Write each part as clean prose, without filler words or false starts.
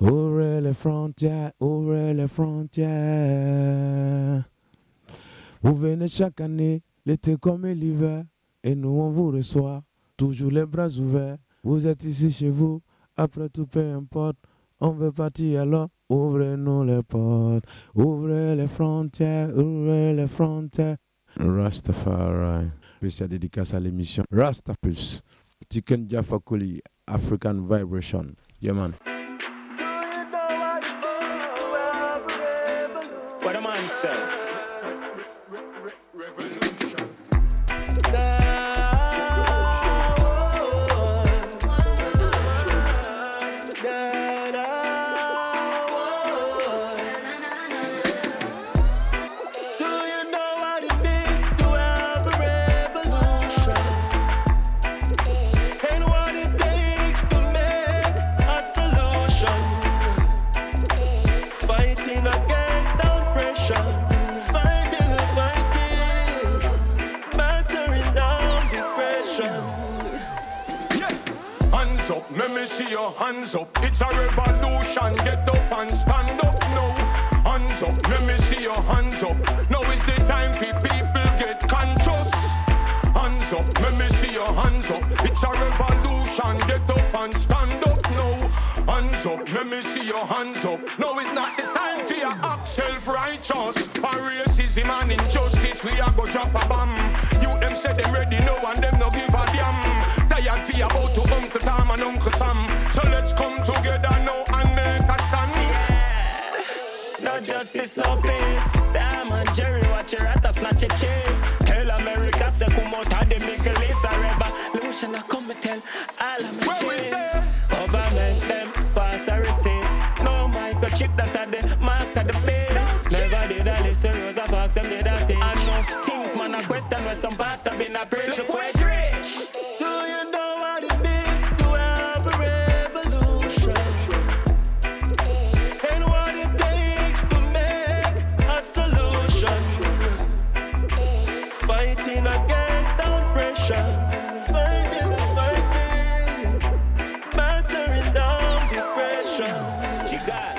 Ouvrez les frontières, ouvrez les frontières. Vous venez chaque année, l'été comme l'hiver, et nous on vous reçoit, toujours les bras ouverts. Vous êtes ici chez vous, après tout peu importe, on veut partir alors, ouvrez-nous les portes, ouvrez les frontières, ouvrez les frontières. Rastafari, spécial dédicace à l'émission Rastapulse, Tiken Jaffa Koli, African Vibration. Yeah man. What a man say? Revolution. Do you know what it means to have a revolution? And what it takes to make a solution? Fighting against oppression, fighting, battering down depression. Yeah, hands up, let me see your hands up. It's a revolution, get up and stand up now. Hands up, let me see your hands up. Now is the time for people get conscious. Hands up, let me see your hands up. It's a revolution, get up and stand up now. Hands up, let me see your hands up. No, it's not the time for your act self-righteous. For racism and injustice, we are go drop a bomb. You them say them ready now and them no give a damn. Tired for about to Uncle Tom and Uncle Sam. So let's come together now and make a stand. Yeah. No justice, no peace. Damn and Jerry, watch your rat, snatch your chase. Tell America, say come out of the Middle East. A revolution, I come and tell all of my chains. Government them pass a receipt. No microchip that are the mark of the base. Never did I listen Rosa Parks and did I think. Enough things, man, I question where some pastor been a preach. Look where it's rich. Do you know what it means to have a revolution? And what it takes to make a solution? Fighting against oppression. Fighting, battering down depression. She got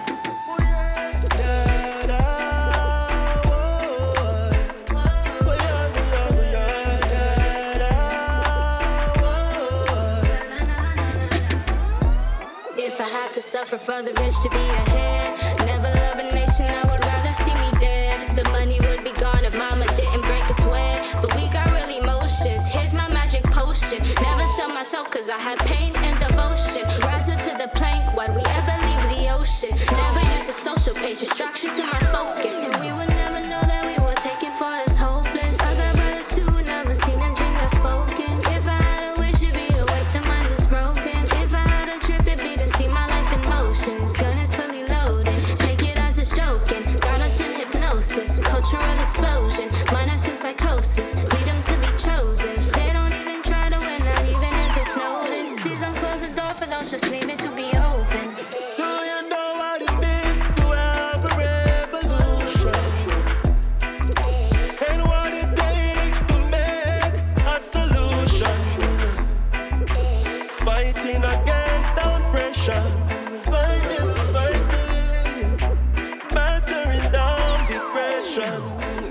If I have to suffer for the rich to be ahead, never love a nation, I would rather see me dead. The money would be gone if mama didn't break a sweat. But we got real emotions, here's my magic potion. Never sell myself cause I had pain and devotion. Rise up to the plank, why'd we ever leave the ocean? Never use the social page, distraction to my focus. And we would never know that we were taken for as hopeless. I got brothers too, never seen a dream that's spoken. If I had a wish, it'd be to wake the minds that's broken. If I had a trip, it'd be to see my life in motion. His gun is fully loaded, take it as it's joking. Got us in hypnosis, cultural explosion. Mind us in psychosis, lead them to be chosen. They don't even try to win, not even if it's noticed. Please don't close the door for those, just leave it to be open. Do you know what it means to have a revolution? And what it takes to make a solution? Fighting against oppression. Fighting, battering down depression.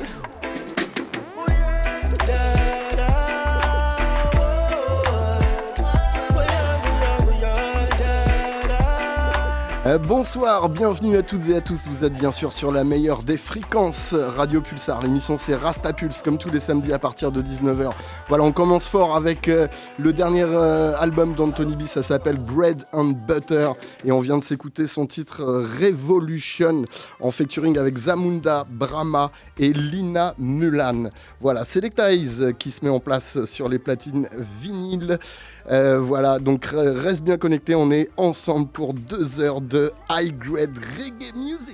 Bonsoir, bienvenue à toutes et à tous, vous êtes bien sûr sur la meilleure des fréquences, Radio Pulsar. L'émission c'est Rastapulse, comme tous les samedis à partir de 19h. Voilà, on commence fort avec le dernier album d'Anthony B, ça s'appelle Bread and Butter. Et on vient de s'écouter son titre Revolution, en featuring avec Zamunda, Brahma et Lina Mulan. Voilà, Selecta Eyes qui se met en place sur les platines vinyles. Voilà, donc reste bien connecté, on est ensemble pour 2 heures de high-grade reggae music.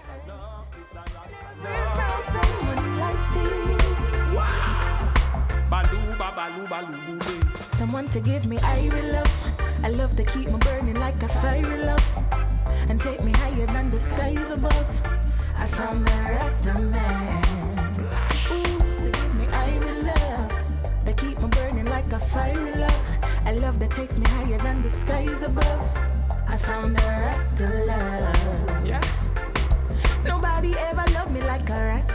Someone to give me irie love. I love to keep me burning like a fiery love. And take me higher than the skies above. I found the Rasta man. Ooh, to give me irie love. They keep me burning like a fiery love. A love that takes me higher than the skies above. I found the Rasta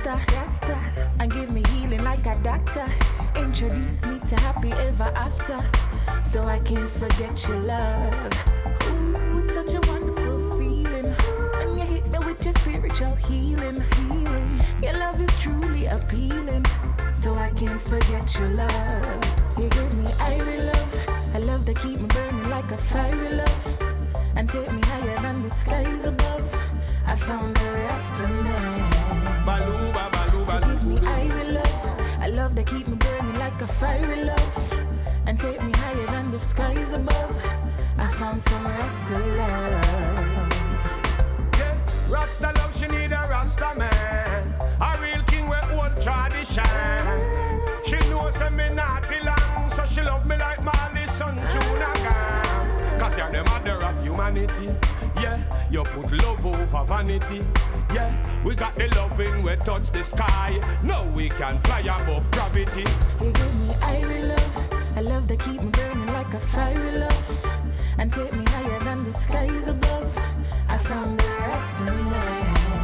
Rasta, and give me healing like a doctor. Introduce me to happy ever after, so I can't forget your love. Ooh, it's such a wonderful feeling when you hit me with your spiritual healing. Your love is truly appealing, so I can't forget your love. You give me irie love, a love that keep me burning like a fiery love, and take me higher than the skies above. I found the rest of me. Baluba, baluba, So give me irie love, a love that keep me burning like a fiery love, and take me higher than the skies above. I found some rest of love. yeah. Rasta love, she need a Rasta man. A real king with old tradition. She knows me naughty long, so she love me like Marley son Junagan. Cause you're the mother of humanity. Yeah, you put love over vanity. Yeah, we got the loving we touch the sky. Now we can fly above gravity. You give me irie love, a love that keep me burning like a fiery love, and take me higher than the skies above. I found the rest of me.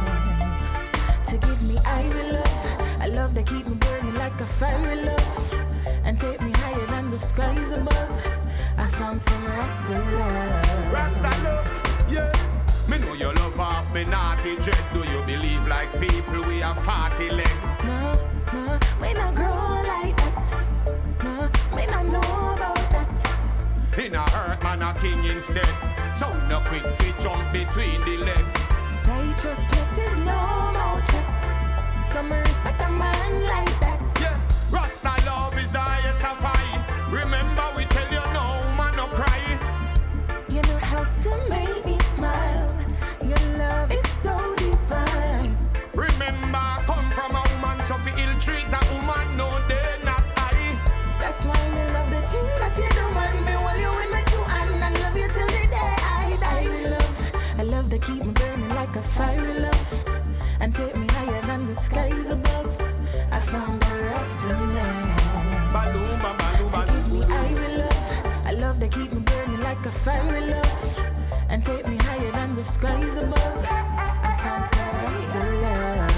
To give me irie love, a love that keep me burning like a fiery love, and take me higher than the skies above. I found some rest of love. Rasta love, yeah. Me know you love off me naughty dread. Do you believe like people we have 40 leg? No, no, we not grow like that. No, we not know about that. In a hurt man a king instead. So no quick fit jump between the leg. Righteousness is no more chat. Some respect a man like that. Yeah, Rasta love is highest of high. Remember we tell you no man no cry. You know how to make me smile. Your love is so divine. Remember I come from a woman so fi ill treat a woman no they not I. That's why me love the thing that you do, man. Me hold you in my two hands and love you till the day I die. I love that keep me burning like a fiery love, and take me higher than the skies above. I found the rest of me. Baluma, baluma, To give me irie love, a love that keep me burning like a fiery love, and take me higher than the skies above. I found some rest of love.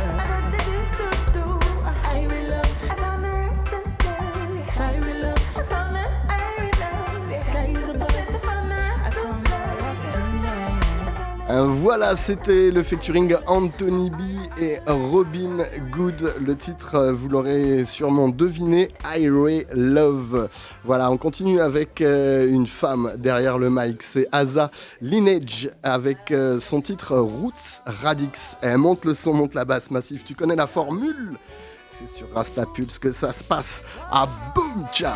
Irie love, I found the rest of love. Fiery love, I found the irie love. Skies above, I found the rest of love. Voilà, c'était le featuring Anthony B et Robin Good. Le titre, vous l'aurez sûrement deviné, Irie Love. Voilà, on continue avec une femme derrière le mic. C'est Asa Lineage avec son titre Roots Radix. Elle monte le son, monte la basse massive. Tu connais la formule? C'est sur Rasta Pulse que ça se passe à Boom Cha.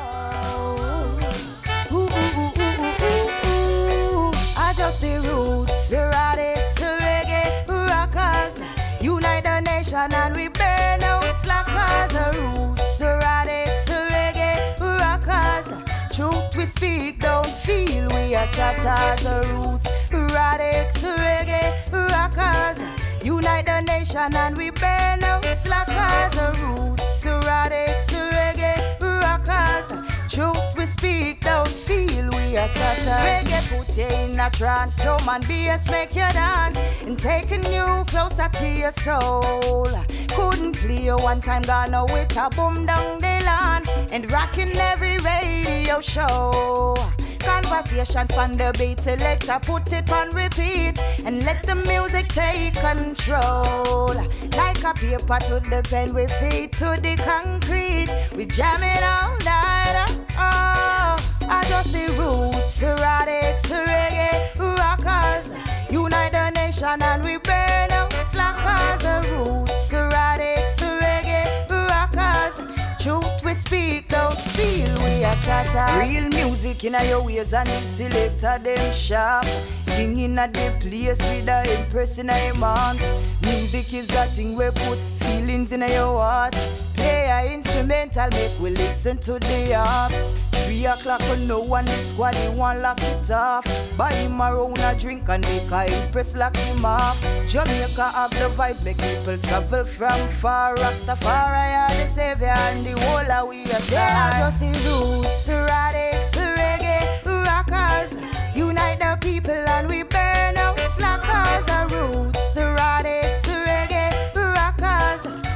I just the roots, the radics, the reggae rockers. Unite the nation and we burn out slackers. The roots, the radics, the reggae rockers. Truth we speak, don't feel we are chatters. The roots, radics, the reggae rockers. Unite the nation and we burn out slackers. The roots, the radics, the reggae rockers. Truth we speak, don't feel we are chatters. Reggae put you in a trance, drum and bass make you dance, and taking you closer to your soul. Couldn't play you one time, gonna with a boom down the land, and rocking every radio show. Conversations on the beat, selector put it on repeat, and let the music take control. Like a paper to the pen, we feet to the concrete, we jam it all night. Oh, I just the roots, the radics, the reggae rockers. Unite the nation and we burn out slackers. The roots, the radics, the reggae rockers. Truth we speak, don't feel we are chatter. Real music in your ways and the selector them sharp. King in a the place with a impress in a mind. Music is that thing we put feelings in your heart. Play a instrumental, make we listen to the harp. 3 o'clock when no one is squad, he want lock it off. Buy him a round a drink and make a impress lock him off. Jamaica have the vibes, make people travel from far. Rastafari are the savior and the whole of we are. They are just the roots, the radics, the reggae rockers. Unite the people and we burn out slackers. The roots, the radics, the reggae rockers.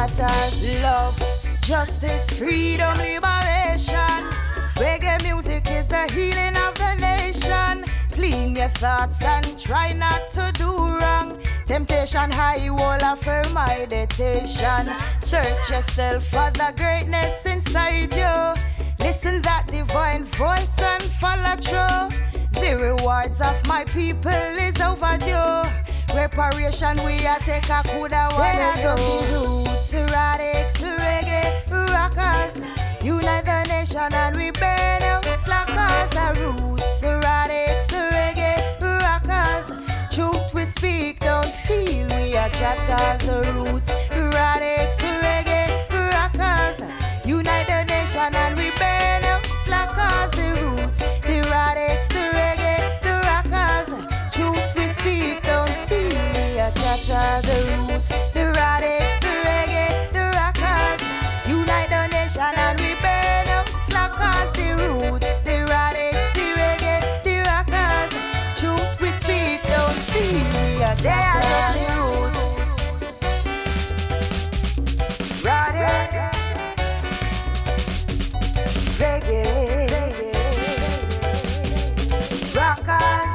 chatters. Love, justice, freedom, liberation. Reggae music is the healing of the nation. Clean your thoughts and try not to do wrong. Temptation high, wall of firm meditation. Search yourself for the greatness inside you. Listen that divine voice and follow through. The rewards of my people is overdue. Reparation we a take a coulda wanna do. Roots, erratics, reggae, rockers. Unite the nation and we burn out slackers. Our roots, erratics, reggae, rockers. Truth we speak, don't feel we are chatters. The roots, erratics, reggae, rockers. Unite the nation and we burn out slackers. The roots, the erratics, the reggae, the rockers. Truth we speak, don't feel we are chatters. The roots, the erratics, the reggae, the rockers. Unite the nation and we burn out slackers. The roots, the erratics, the reggae, the rockers. Truth we speak, don't feel we are chatters. The roots, erratics, reggae, rockers.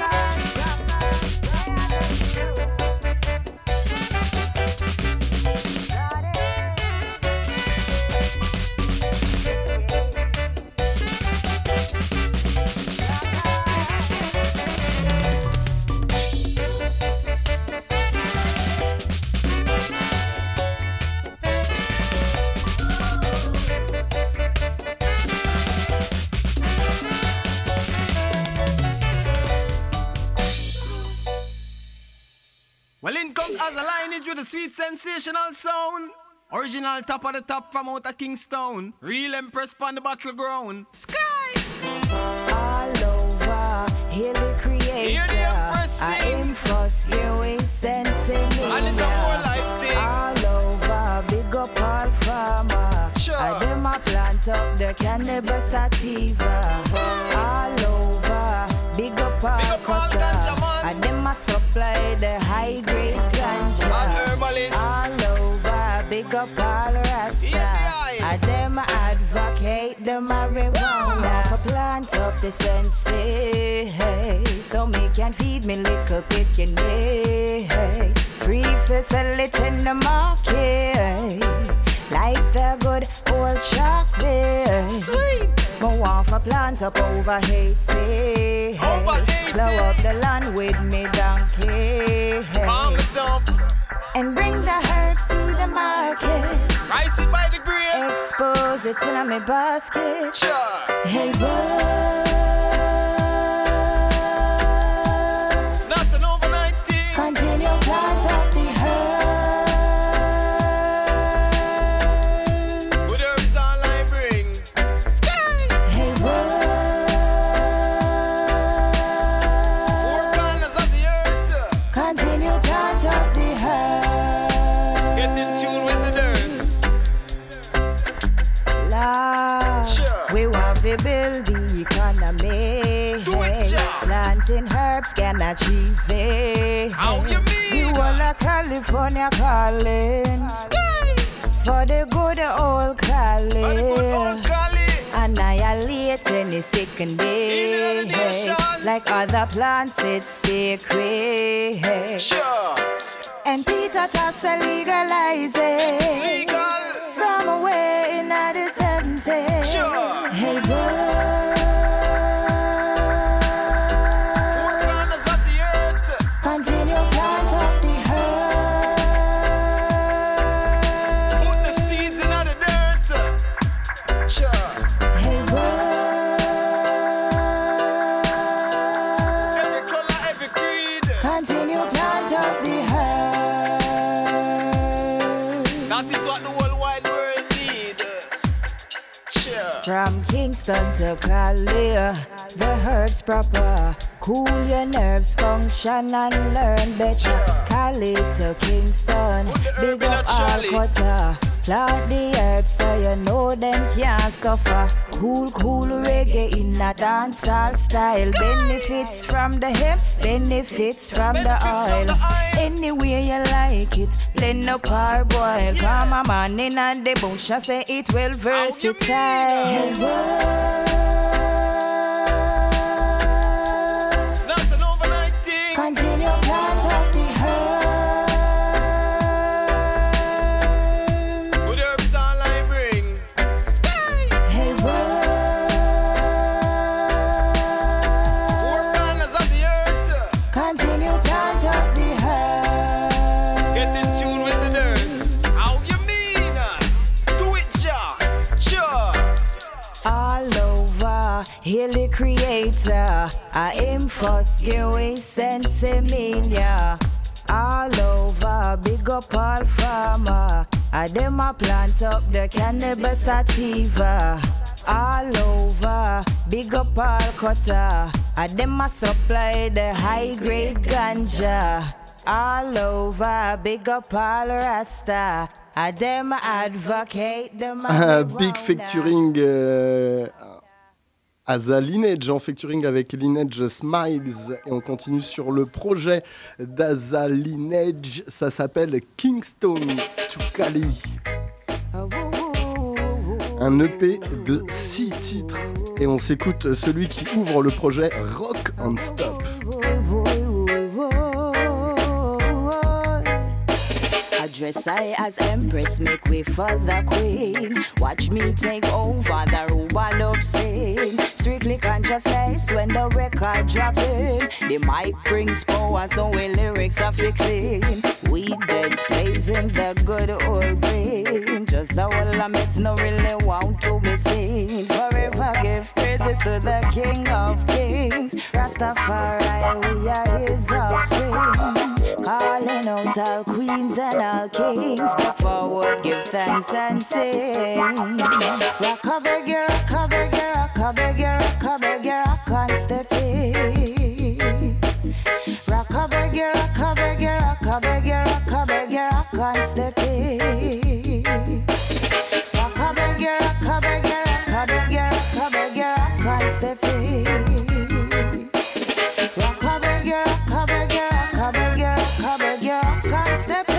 Well, in comes as a lineage with a sweet sensational sound. Original top of the top from out of Kingston. Real Empress on the battleground. Sky! All over, hear the creator. Hear the Empress sing. I am first, you is sensing me. And it's a more life thing. All over, big up all farmer. Sure. I dem a plant up the cannabis sativa. All over, big up all cutter. I dem a supply the high grade ganja. All herbalists. All over, big up all rasta. I dem a advocate the marijuana. For plant up the sensei, so me can feed me little picking day. Free for sell it in the market, like the good old chocolate. Sweet! Go off a plant up over Haiti. Over 80. Plow up the land with me donkey. Farm it up. And bring the herbs to the market. Rice it by the grain. Expose it in my basket. Sure. Hey, boy. It's not an overnight thing. Continue plant up the herb. Good herbs all I bring. Sky! Hey, boy. Four corners of the earth. Continue plant up the herb. Get in tune with the dirt. Lord, Sure. we want to build the economy. Do it, Jah. Planting herbs can achieve it. How you mean? We want a California calling. Sky! For the good old For the good old calling. Cali. Annihilate any second day. Even in the nation. Like other plants, it's sacred. Sure. And Peter Toss legalize it. Legal. From away in the 70s. Sure. Hey, boy. Four corners of the earth. Continue plant up the herb. Put the seeds in the dirt. Sure. Hey, boy. Every color, every creed. Continue plant up the herb. That is what the whole wide world need. Sure. From Kingston to Cali, the herbs proper. Cool your nerves, function and learn better. Cali to Kingston, Put the herb big in a up all trolley. cutter. Plant the herbs so you know them can't suffer. Cool reggae in a dancehall style. Benefits from the hemp, benefits from the oil. Any way you like it, blend up or boil. Come a man in and the bush, I say it well versatile. It's not an overnight thing. Continue plant up the herb. Good herbs all I bring. Sky. Hey, Four corners of the earth. continue plant up the herb. Get in tune with the nerds. How you mean? Do it, Jah. Sure. All over, hail the creator. I am first, give we sensimania. All over, big up all farmer. I them a plant up the cannabis sativa. All over, big up all cutter. I them a supply the high grade ganja. All over, big up all rasta. I them advocate the Big featuring Asa Lineage, en featuring avec Lineage Smiles. Et on continue sur le projet d'Asa Lineage. Ça s'appelle Kingston to Cali. Un EP de 6 titres. Et on s'écoute celui qui ouvre le projet Rock on Stop. Dress I as empress, make way for the queen. Watch me take over the Ruban up scene. Strictly consciousness when the record dropping. The mic brings power, so we lyrics are fi clean. We dead blazing the good old green. Just a whole of it no really want to be seen. Forever give praises to the King of Kings. Rastafari, we are his offspring. Calling out all queens and all kings. Step forward, give thanks and sing. Rock a beggar, rock a beggar, rock a beggar, rock a beggar, rock and step in. Rock a beggar, rock a beggar, rock a beggar, rock a beggar, rock and step in. Rock a beggar, rock a beggar, rock a beggar, rock a beggar, rock and step in. Rock a beggar, rock a beggar, rock a beggar, rock a beggar, rock and step in.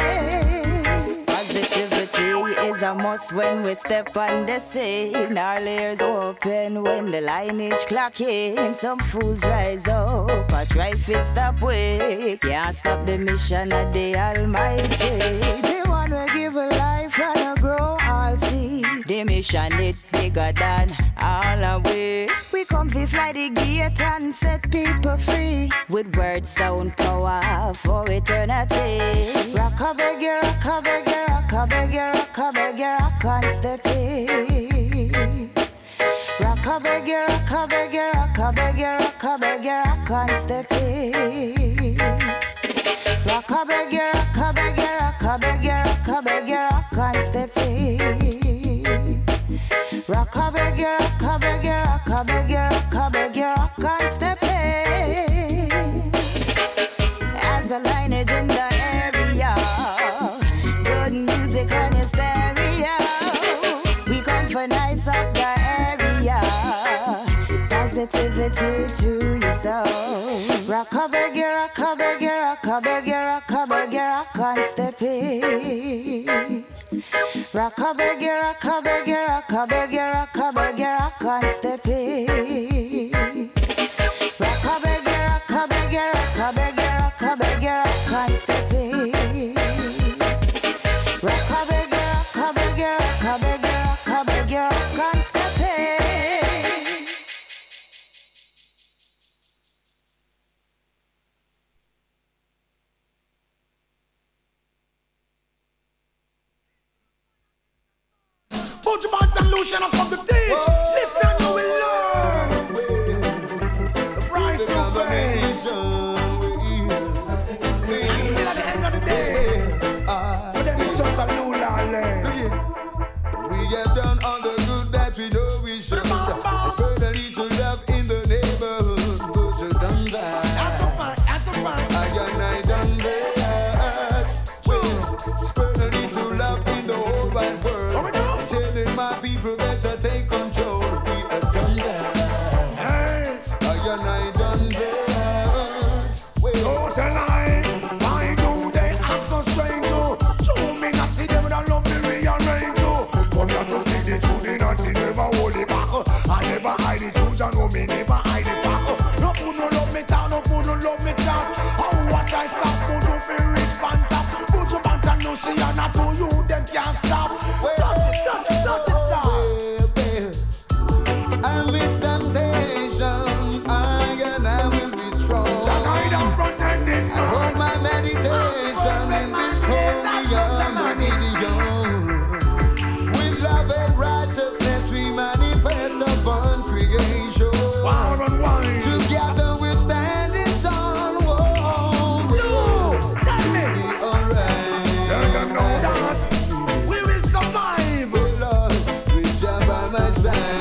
Positivity is a must when we step on the scene. Our layers open when the lineage clock in. Some fools rise up, I try to stop we. Can't stop the mission of the Almighty. The one will give a life and a grow all see. The mission it bigger than all our way. We come to fly the gate and set people free. With word sound power for eternity. Rock a beggar, rock a beggar, rock a beggar, rock a beggar, rock and step in. Rock a beggar, rock a beggar, rock a beggar, rock a beggar, rock and step in. Rock a beggar, rock a beggar, rock a beggar, rock a beggar, rock and step in. Rock a beggar, rock a beggar, rock a beggar, rock a beggar, rock and step in. As a lineage in the area, good music on your stereo. We come for nice of the area. Positivity to your soul. Rock a beggar, rock a beggar, rock a beggar, rock a beggar, rock and step in. Rock a beggar, rock a beggar, rock a beggar, rock a beggar, rock and step in. Rock a beggar, rock a beggar, rock a beggar, rock a beggar, rock and step in. Rock a beggar, rock a beggar, rock a beggar, rock a beggar, rock and step in. Put your back and lotion up on the stage. Listen, you will learn. The price you pay. Still at the end of the day, for them it's just a new land. We have done all the good that we know we should. Spread a little love in the neighborhood. But you done that. That's a fact, that's a fact. I done that. Spread a little love in the whole wide and I done that. So tell I, why do they act so strange? Show me not see them with a love me rearrange. Come here to speak the truth, they not see never hold it back. I never hide the truth, you know me never hide it back. No food no love me down, no food no love me down. How what I stop, food no feel rich fan top. Put your band and no see and not to you, them can't stop. Touch it, touch it, touch it, stop. Amidst temptation, I will be strong. I hold my meditation in this holy harmony. With love and righteousness we manifest upon creation. Together we're standing tall. Whoa, be alright. We will survive. Oh Lord, with Jah by my side.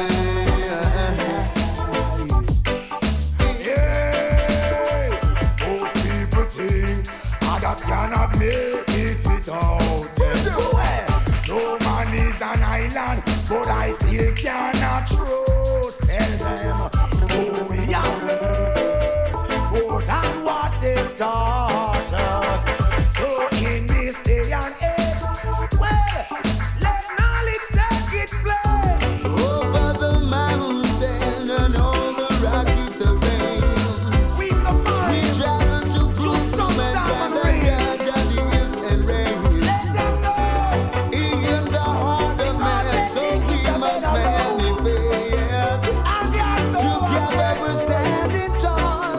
Cannot make it without them. No man is an island, but I still cannot trust. Tell them, oh, we have learned more than what they've taught us. So in this day and age, well, let knowledge take its place. Over the mountain and all the rocky terrain, we survive. We travel to prove to mankind that God has the gifts and reign. Let them know. Even the heart of man, so we must manifest. Together we're standing tall.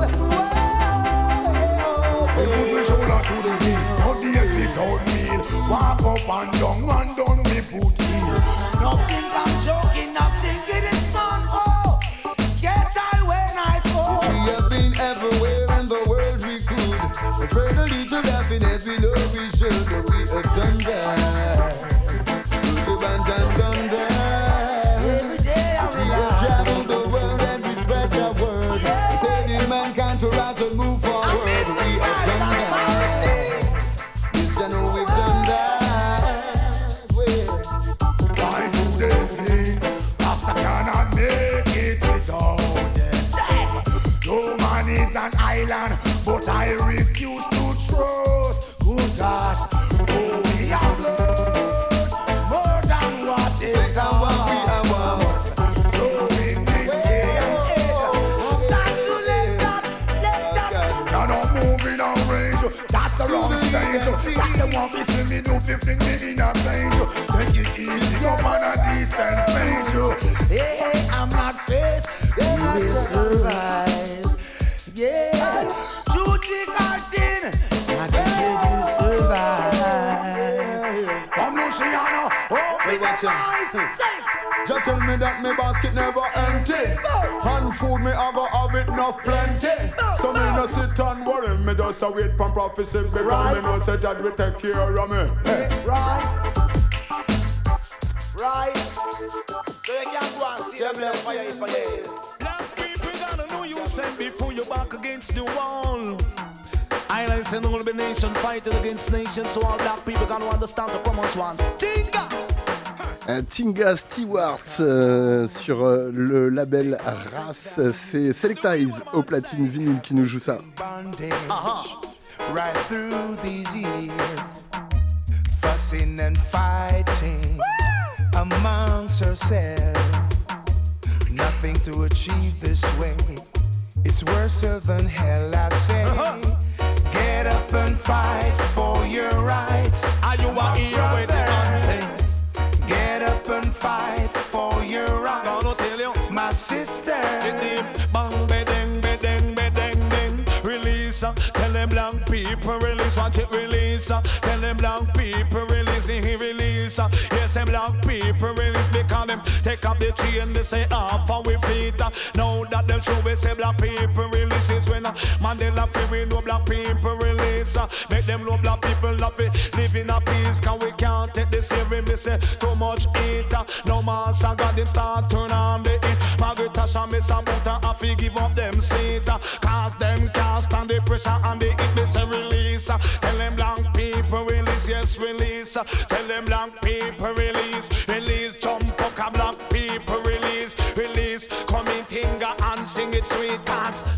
We put the shoulder to the wheel, not the head without meal. Walk up and down we put heel. Nothing I'm joking, nothing it is fun. Oh, get I when I fall. If we have been everywhere in the world we could, let's spread a little happiness, we know we should, but we have done that. Put the band and done that. Every day we have traveled the world and we spread our word. Telling mankind to rise and move forward. We have done that. Yes, I know we've done that. Well, why do they think Rasta cannot make it without them? No man is an island, but I refuse to trust. Good gosh, oh, we have learned more than what they taught us. So in this day and age, I've got to let that. You're not moving on range, that's the wrong stage. Got them want to see me do 15 me in a range. Take it easy, go on a decent page. Hey, I'm not faced, we will survive. Yeah, Judy Cartin, I think you will survive. Come Luciano, open your eyes. Just tell me that my basket never empty. And food me I go have it enough plenty. So me no sit and worry, me just a wait for prophecy. Because me know say that will take care of me. Right. So you can't go and see them fire. Black people gonna know you send before you back against the wall. Islands and all the nation fighting against nations, so all black people gonna understand the common one. Tinga! Tinga Stewart sur le label Race, c'est Selectize au platine vinyle qui nous joue ça. Right through these years, fussing and fighting amongst ourselves. Nothing to achieve this way. It's worse than hell, I say. Get up and fight for your rights. Are you a hero with the nonsense? Get up and fight for your rights. My sister. Bang, bedeng, bedeng, bedeng, deng. Release, tell them black people release. Want it release, tell them black people release. Release, yes, them black people release. Because them take up the chain, they say off and we feet. Now that them show we say black people release. Is when Mandela free, we know black people release. Make them know black people love it, live in a peace. Cause we can't take this every me say too much eat. No man got them start turn on the heat. Margaret Tasha miss a butter and fi give up them seat. Cause them can't stand the pressure and the heat. They say release. Tell them black people release, yes release. Tell them black people release. Release, jump up a black people release. Release, come in Tinga and sing it sweet. Cause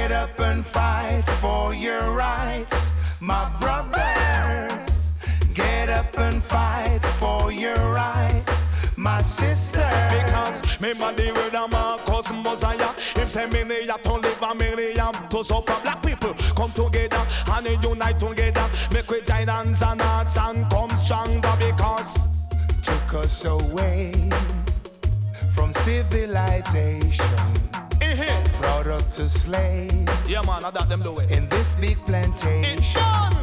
Get up and fight for your rights, my brothers. Get up and fight for your rights, my sister. Because me body with a Marcus Mosiah. Him say me need to live and me need to suffer. Black people come together and unite together. Make we join hands and hearts and come stronger because took us away from civilization. Brought us to slave. Yeah man, I got them do it. In this big plantation.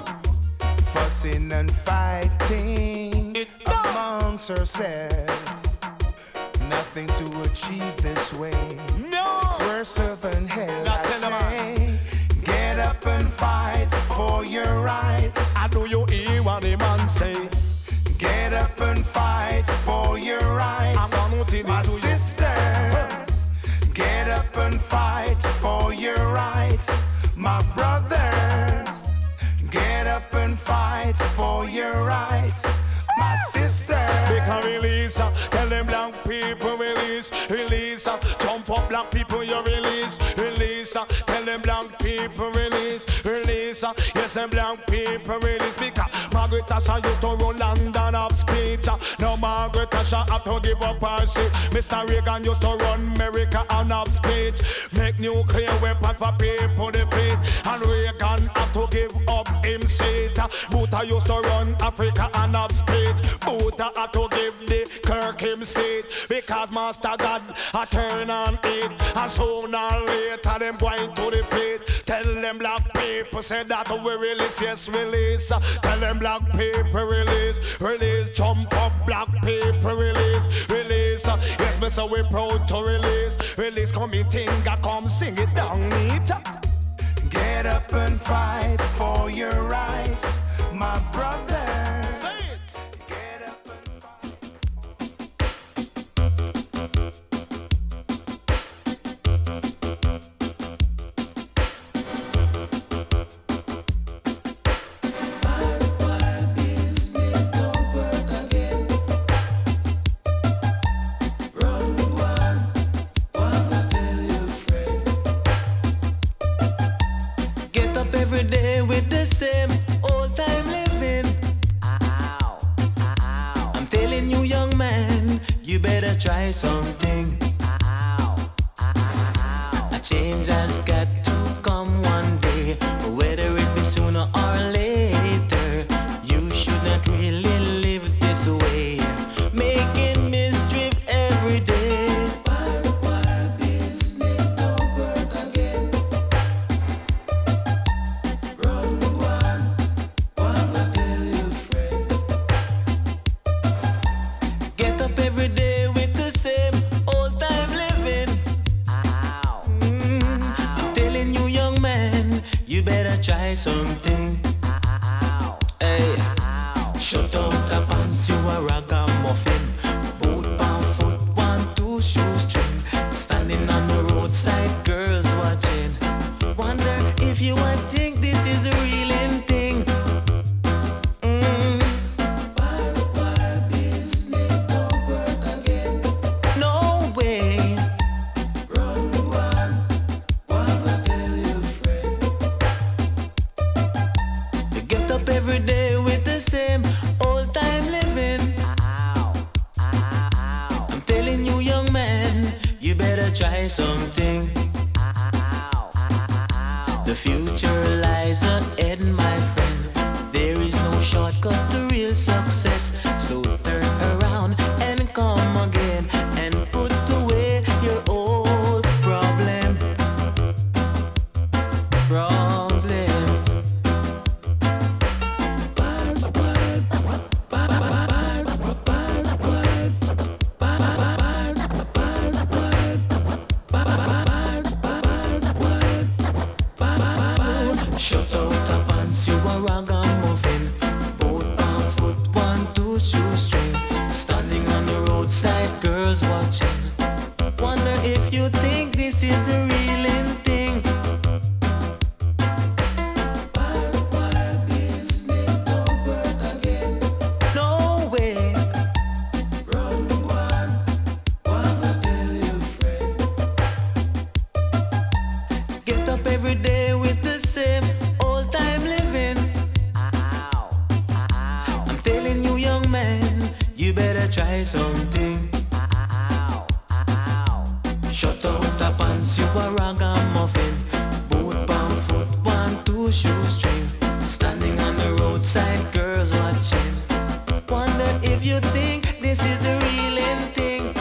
Fussing and fighting amongst ourselves. Nothing to achieve this way. No. Worse than hell. I say, get up and fight for your rights. I know you hear what the man say. Get up and fight for your rights, my sisters. Get up and fight for your rights, my brothers. Get up and fight for your rights, my sister. Because release, tell them black people release, release. Jump up black people, you release, release. Tell them black people release, release. Yes, them black people release. Because Margaret Thatcher used to run London up speed. Now Margaret Thatcher have to give up her seat. Mr. Reagan used to run America on up speed. Make nuclear weapons for people defeat. And Reagan have to give up him seat. Botha used to run Africa on up speed. Botha had to give the Kirk him seat. Because Master God a turn on it. And sooner or later them going to the pit. Tell them black people say that we release, yes release. Tell them black people release, release. Jump up black people release, release. Yes me so we proud to release, release. Come in tinga, come sing it down neat. Get up and fight for your rights, my brothers. Say it. Get up and fight. Get up every day with the same old time living. Ow, ow. I'm telling you, young man, you better try something. Ow, ow. A change has got to come one day, whether it be sooner or later. You should not really live this way, making mischief every day. Wild business don't work again. Run one, go tell your friend. Get up every day with the same old time living. Ow. I'm telling you, young man, you better try something. Ow. Hey, shut up the pants, you a ragamuffin. Boot pound foot, 1, 2 shoestring. Standing on the roadside, girls watching. Wonder if you would think this is a real thing. Wild business don't work again. No way. Run one, go tell your friend. You get up every day with the same old time living. Ow, ow. I'm telling you, young man, you better try something. Ow, ow. The future lies ahead, my friend. There is no shortcut to real success. So turn around and come again and put away your old problem. Shut out the pants, you a ragamuffin. Both on foot, 1, 2 shoestring. Standing on the roadside, girls watching. Wonder if you think this is the real thing. Wild business don't work again. No way. Run one, go tell your friend. Get up every day with the same old time living. I'm telling you, young man, you better try something. Shut out the pants, you a ragamuffin. Boot bound foot, 1, 2 shoestring. Standing on the roadside, girls watching. Wonder if you think this is a real thing.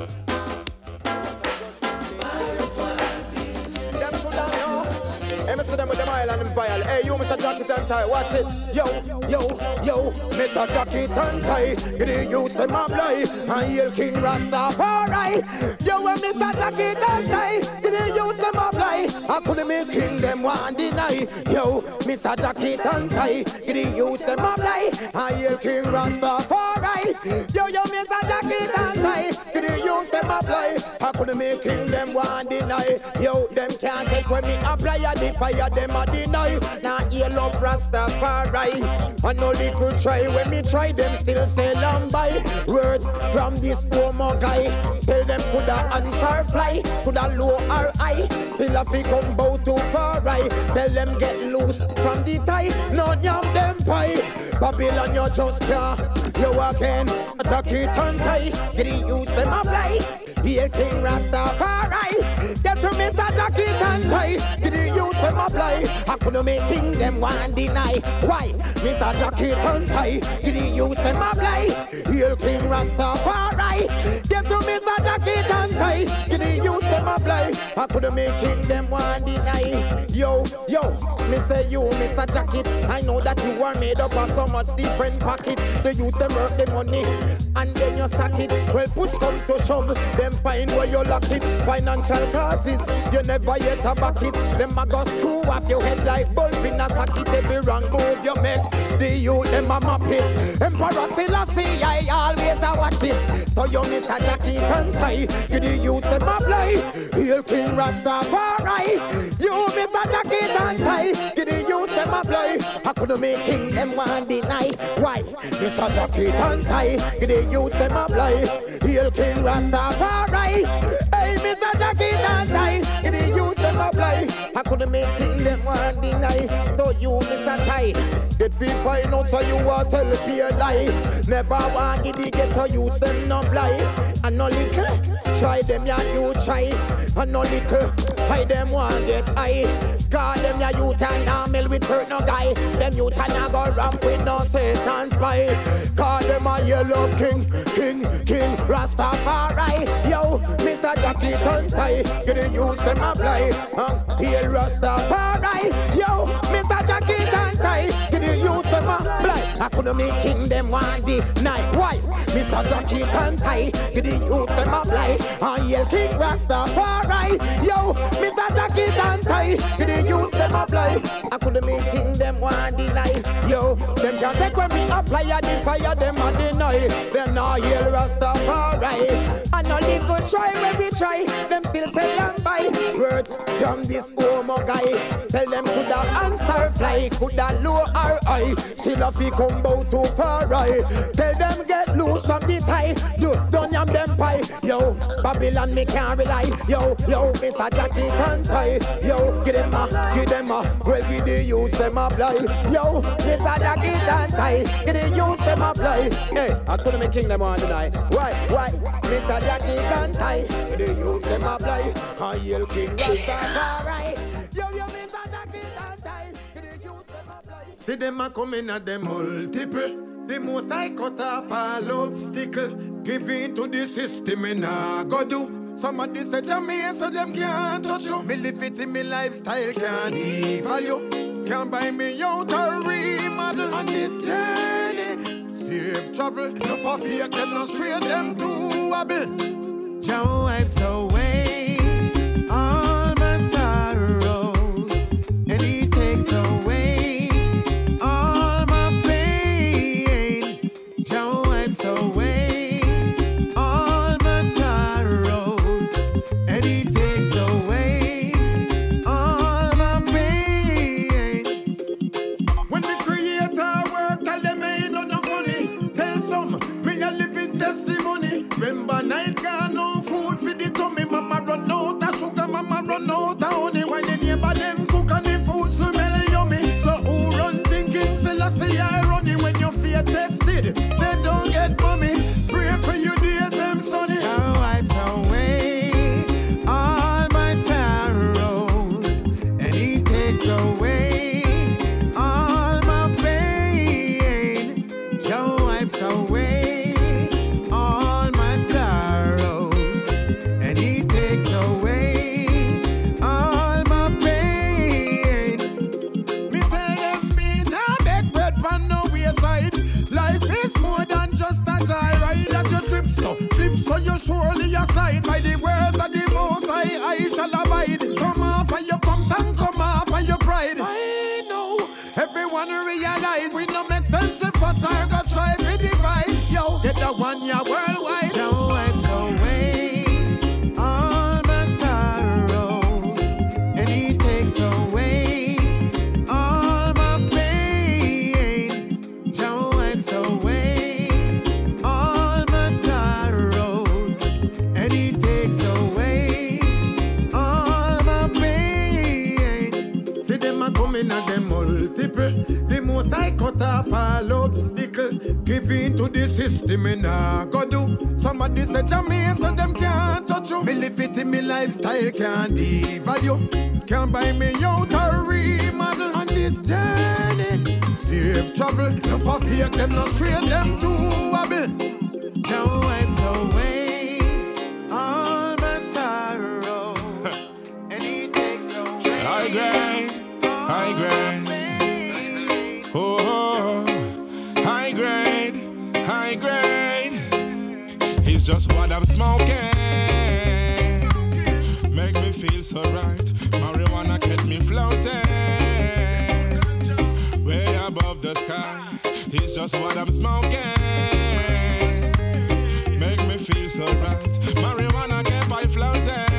Them with them island and vile. Hey, you Mr. Jacket and Tie, watch it. Yo, Mr. Jacket and Tie. You didn't use them up lie. And Yale King Rastafari. Yo, Mr. Jacket and Tie. You didn't use them up lie. I couldn't make king them one deny. Yo, Mr. Jacket and Tie. You didn't use them up lie. And Yale King Rastafari. Yo, Mr. Jacket and Tie. You didn't use them up lie. I couldn't make king them one deny. Yo, them can't take when me apply the fire. Them a deny, now yellow Rastafari. And no little try, when me try them still say long by. Words from this homo guy. Tell them coulda answer fly, coulda low or high. Still a fi come bow too far right. Tell them get loose from the tie, no yam them pie. Babylon you just can't, you again. Attack it and tie, get it use them apply. Here King Rastafari. Get to Mr. Jacket and Tie. Get it use them apply. I couldn't make king them one deny. Why? Mr. Jacket and Tie. Get it use them apply. Here King Rastafari. Get to Mr. Jacket and Tie. Get it use them apply. I couldn't make king them one deny. Yo, me say you, Mr. Jacket. I know that you are made up of so much different pockets. The youth them work the money and then you sack it. Well, push come to shove, them find where you lock it. Financial causes, you never yet a back it. Them a go screw off your head like bulb in a socket. Every wrong move you make, the youth them a map it. Emperor Selassie, I always a watch it. So you Mr. Jacket and Tie, you the youth them a fly. Hail King Rastafari. You Mr. Jacket and Tie, you the youth them a fly. I couldn't make king them one deny. Why? Mr. Jacket and Tie, you the youth them a fly. Hail King Rastafari. Hey, Mr. Jacket and Tie, you the youth them a fly. I couldn't make king them one deny. So you Mr. Tie, get feel fine out so you want tell the peer lie. Never want to get to use them no fly. And no little, try them ya you try. And no little, I them want get high. Call them ya youth and armel with hurt no guy. Them youth and a go ramp with no Satan spy. Call them a yellow king Rastafari. Yo, Mr. Jacket and Tie, you didn't use them apply. Here Rastafari. Yo, Mr. Jacket and Tie, you didn't use them apply. I couldn't make king them one day night. Why? Mr. Jacket and Tie, you didn't use them apply. Here King Rastafari. Yo, Mr. Jacket and Tie, you didn't use them apply. I couldn't make king them one day night. Yo, them can't take when we apply the fire them and deny. Them not hear Rastafari. And no little try when we try, them still tell them by. Words from this homo guy. Tell them coulda answer fly, coulda low or high. Still a fi come bout too far right. Tell them get loose from the tie. Don't yam them pie. Yo, Babylon me can't rely. Yo, Mr. Jacket and Tie. Yo, give them a, well give the youth them a fly. Yo, Mr. Jacket and Tie, give the youth them a fly. Hey, I couldn't make king them on tonight. Why? Mr. Jacket and Tie, give the youth them a fly. I yell King Rastafari. Yo, Mr. Jacket and Tie, give the youth them a fly. See them a coming at them multiple. The most I cut off all obstacle. Give in to the system and I go do. Somebody said to me so them can't touch you. Me live it in me lifestyle, can't devalue. Can't buy me out or remodel on this journey. Safe travel, no for fake them, no straight them to wobble. Jah wipes away all my sorrows, and He takes away all my pain. Jah wipes away all my sorrows, and He takes away all my pain. When the Creator work, tell them ain't no funny. Tell some, me a living testimony. Remember night gone, no food for the tummy. Mama fuss or go try to divide. Yo, get that one year worldwide. Jah wipes away all my sorrows, and He takes away all my pain. Jah wipes away all my sorrows, and He takes away all my pain. See them a coming and them multiple. The most I cut off all obstacle. Give in to the system and I go do. Somebody say Jamaican so them can't touch you. Me live it in me lifestyle can't devalue. Can't buy me out or remodel. On this journey, safe travel. No for fake them, no straight them to wobble. Jah wipes away all my sorrows, and He takes away high grade, high grade. Oh, high grade, high grade. It's just what I'm smoking. Make me feel so right. Marijuana kept me floating way above the sky. It's just what I'm smoking. Make me feel so right. Marijuana kept I floating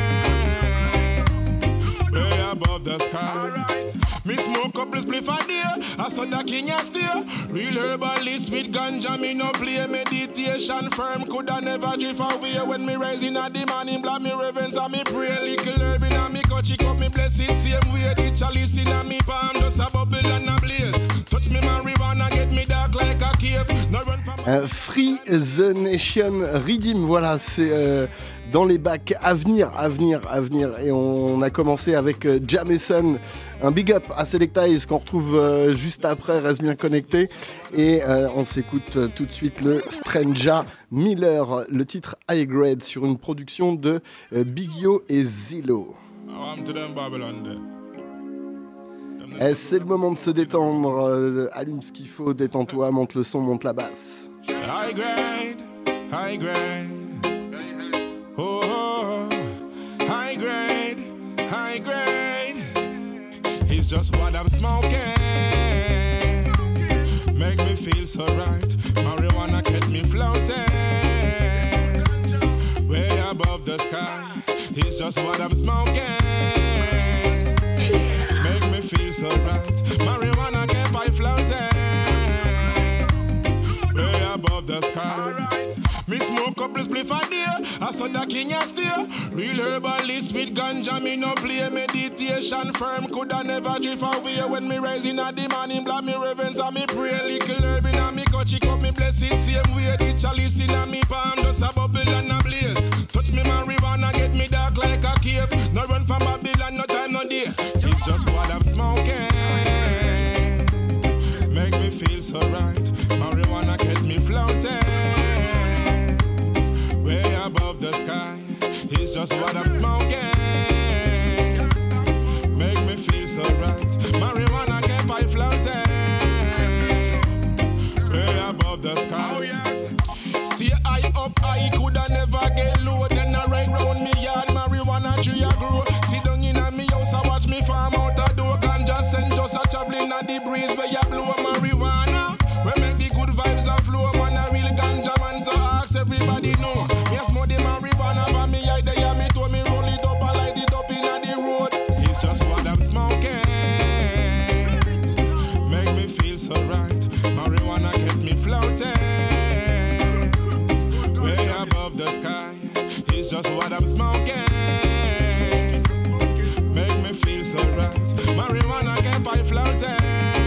way above the sky. Me smoke couple spliff a day, I saw the king a steer. Real herbalist with ganja, me no play meditation firm. Coulda never drift away when me rising at the morning. Blood me reverence and me pray. Little herb in a me cut, up me bless it same way. The chalice in a me palm, just a bubble and a blaze. Touch me marijuana, get me dark like a cave. No run from Free the Nation Redeem, voilà, c'est dans les bacs à venir. Et on a commencé avec Jameson. Un big up à Selecta qu'on retrouve juste après, reste bien connecté. Et on s'écoute tout de suite le Stranger Miller, le titre High Grade sur une production de Big Yo et Zillow. C'est le moment de se détendre. Allume ce qu'il faut, détends-toi, monte le son, monte la basse. High grade, high grade. Oh, high grade, high grade. It's just what I'm smoking. Make me feel so right. Marijuana kept me floating way above the sky. It's just what I'm smoking. Make me feel so right. Marijuana kept I floating way above the sky. Me smoke couple spliff a day, I saw the king a steer. Real herbalist with ganja, me no play meditation firm. Coulda never drift away when me rising at the morning. Blood me reverence and me pray. Little herb in a me cut, up me bless it same way. The chalice in a me palm, just a bubble and a blaze. Touch me marijuana, get me dark like a cave. No run from Babylon, no time, no day. It's just what I'm smoking. Make me feel so right. Marijuana kept me floating way above the sky. It's just what I'm smoking. Make me feel so right. Marijuana kept I floating way above the sky. Oh yes. Stay high up, I coulda never get low. Then I ride round me yard, marijuana tree a grow. Sit down in a me house, I watch me farm out a door. Ganja scent just a traveling at the breeze where you blow marijuana. We make the good vibes a flow. Man a real ganja man, so ask everybody know. Me smoke the marijuana for me eye there, me told me roll it up and light it up inna the road. It's just what I'm smoking. Make me feel so right. Marijuana kept me floating way above the sky. It's just what I'm smoking. Make me feel so right. Marijuana kept I floating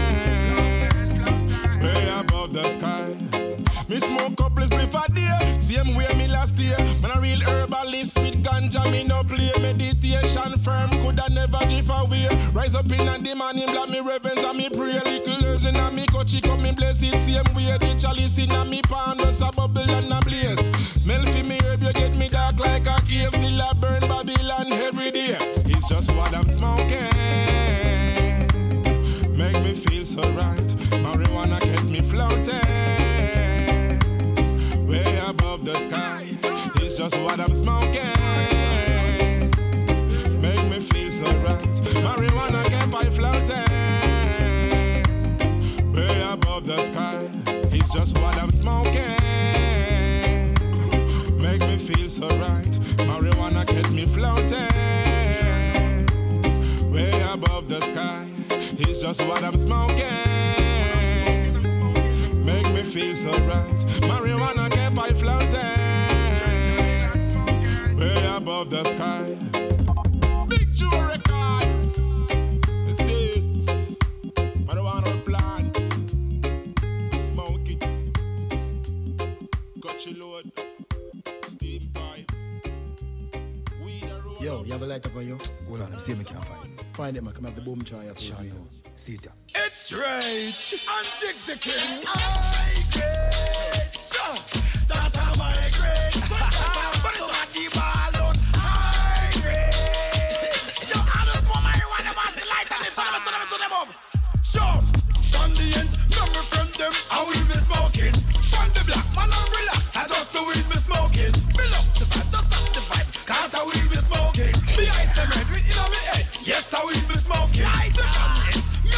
way above the sky. Me smoke couple spliff a day, same way me last year. Man a real herbalist with ganja, me no play meditation firm. Coulda never drift away. Rise up in the morning, blood me reverence and me pray. Little herbs in a me cut, up me bless it same way. The chalice in a me palm, just a bubble and a blaze. Melt for me herb, you get me dark like a cave. Still a burn Babylon every day. It's just what I'm smoking. Make me feel so right. Marijuana kept me floating way above the sky. It's just what I'm smoking. Make me feel so right. Marijuana kept I floating way above the sky. just what I'm smoking. Make me feel so right. Marijuana kept me floating way above the sky. It's just what I'm smoking. Make me feel so right. Marijuana kept I floating way above the sky. Big Joe Records. The seeds. Marijuana plant. Smoke it. Got you load. Steam pipe. Yo, you have a light up on you? Hold on, let me see if I can find it. Find it, man. Come have the boom choir. See it. It's right. And Jig the King. I great. That's how my great. But it's not the ball on. I great. Yo, I just want marijuana, pass the light and turn them up. Sure. On the ends, number from them, I will be smoking. On the black, man, I'm relaxed. I just the weed be smoking. Fill up the vibe, just stop the vibe. Cause I will be smoking. The ice, the red, with in on my head. Yes, I will be smoking. Light the ends.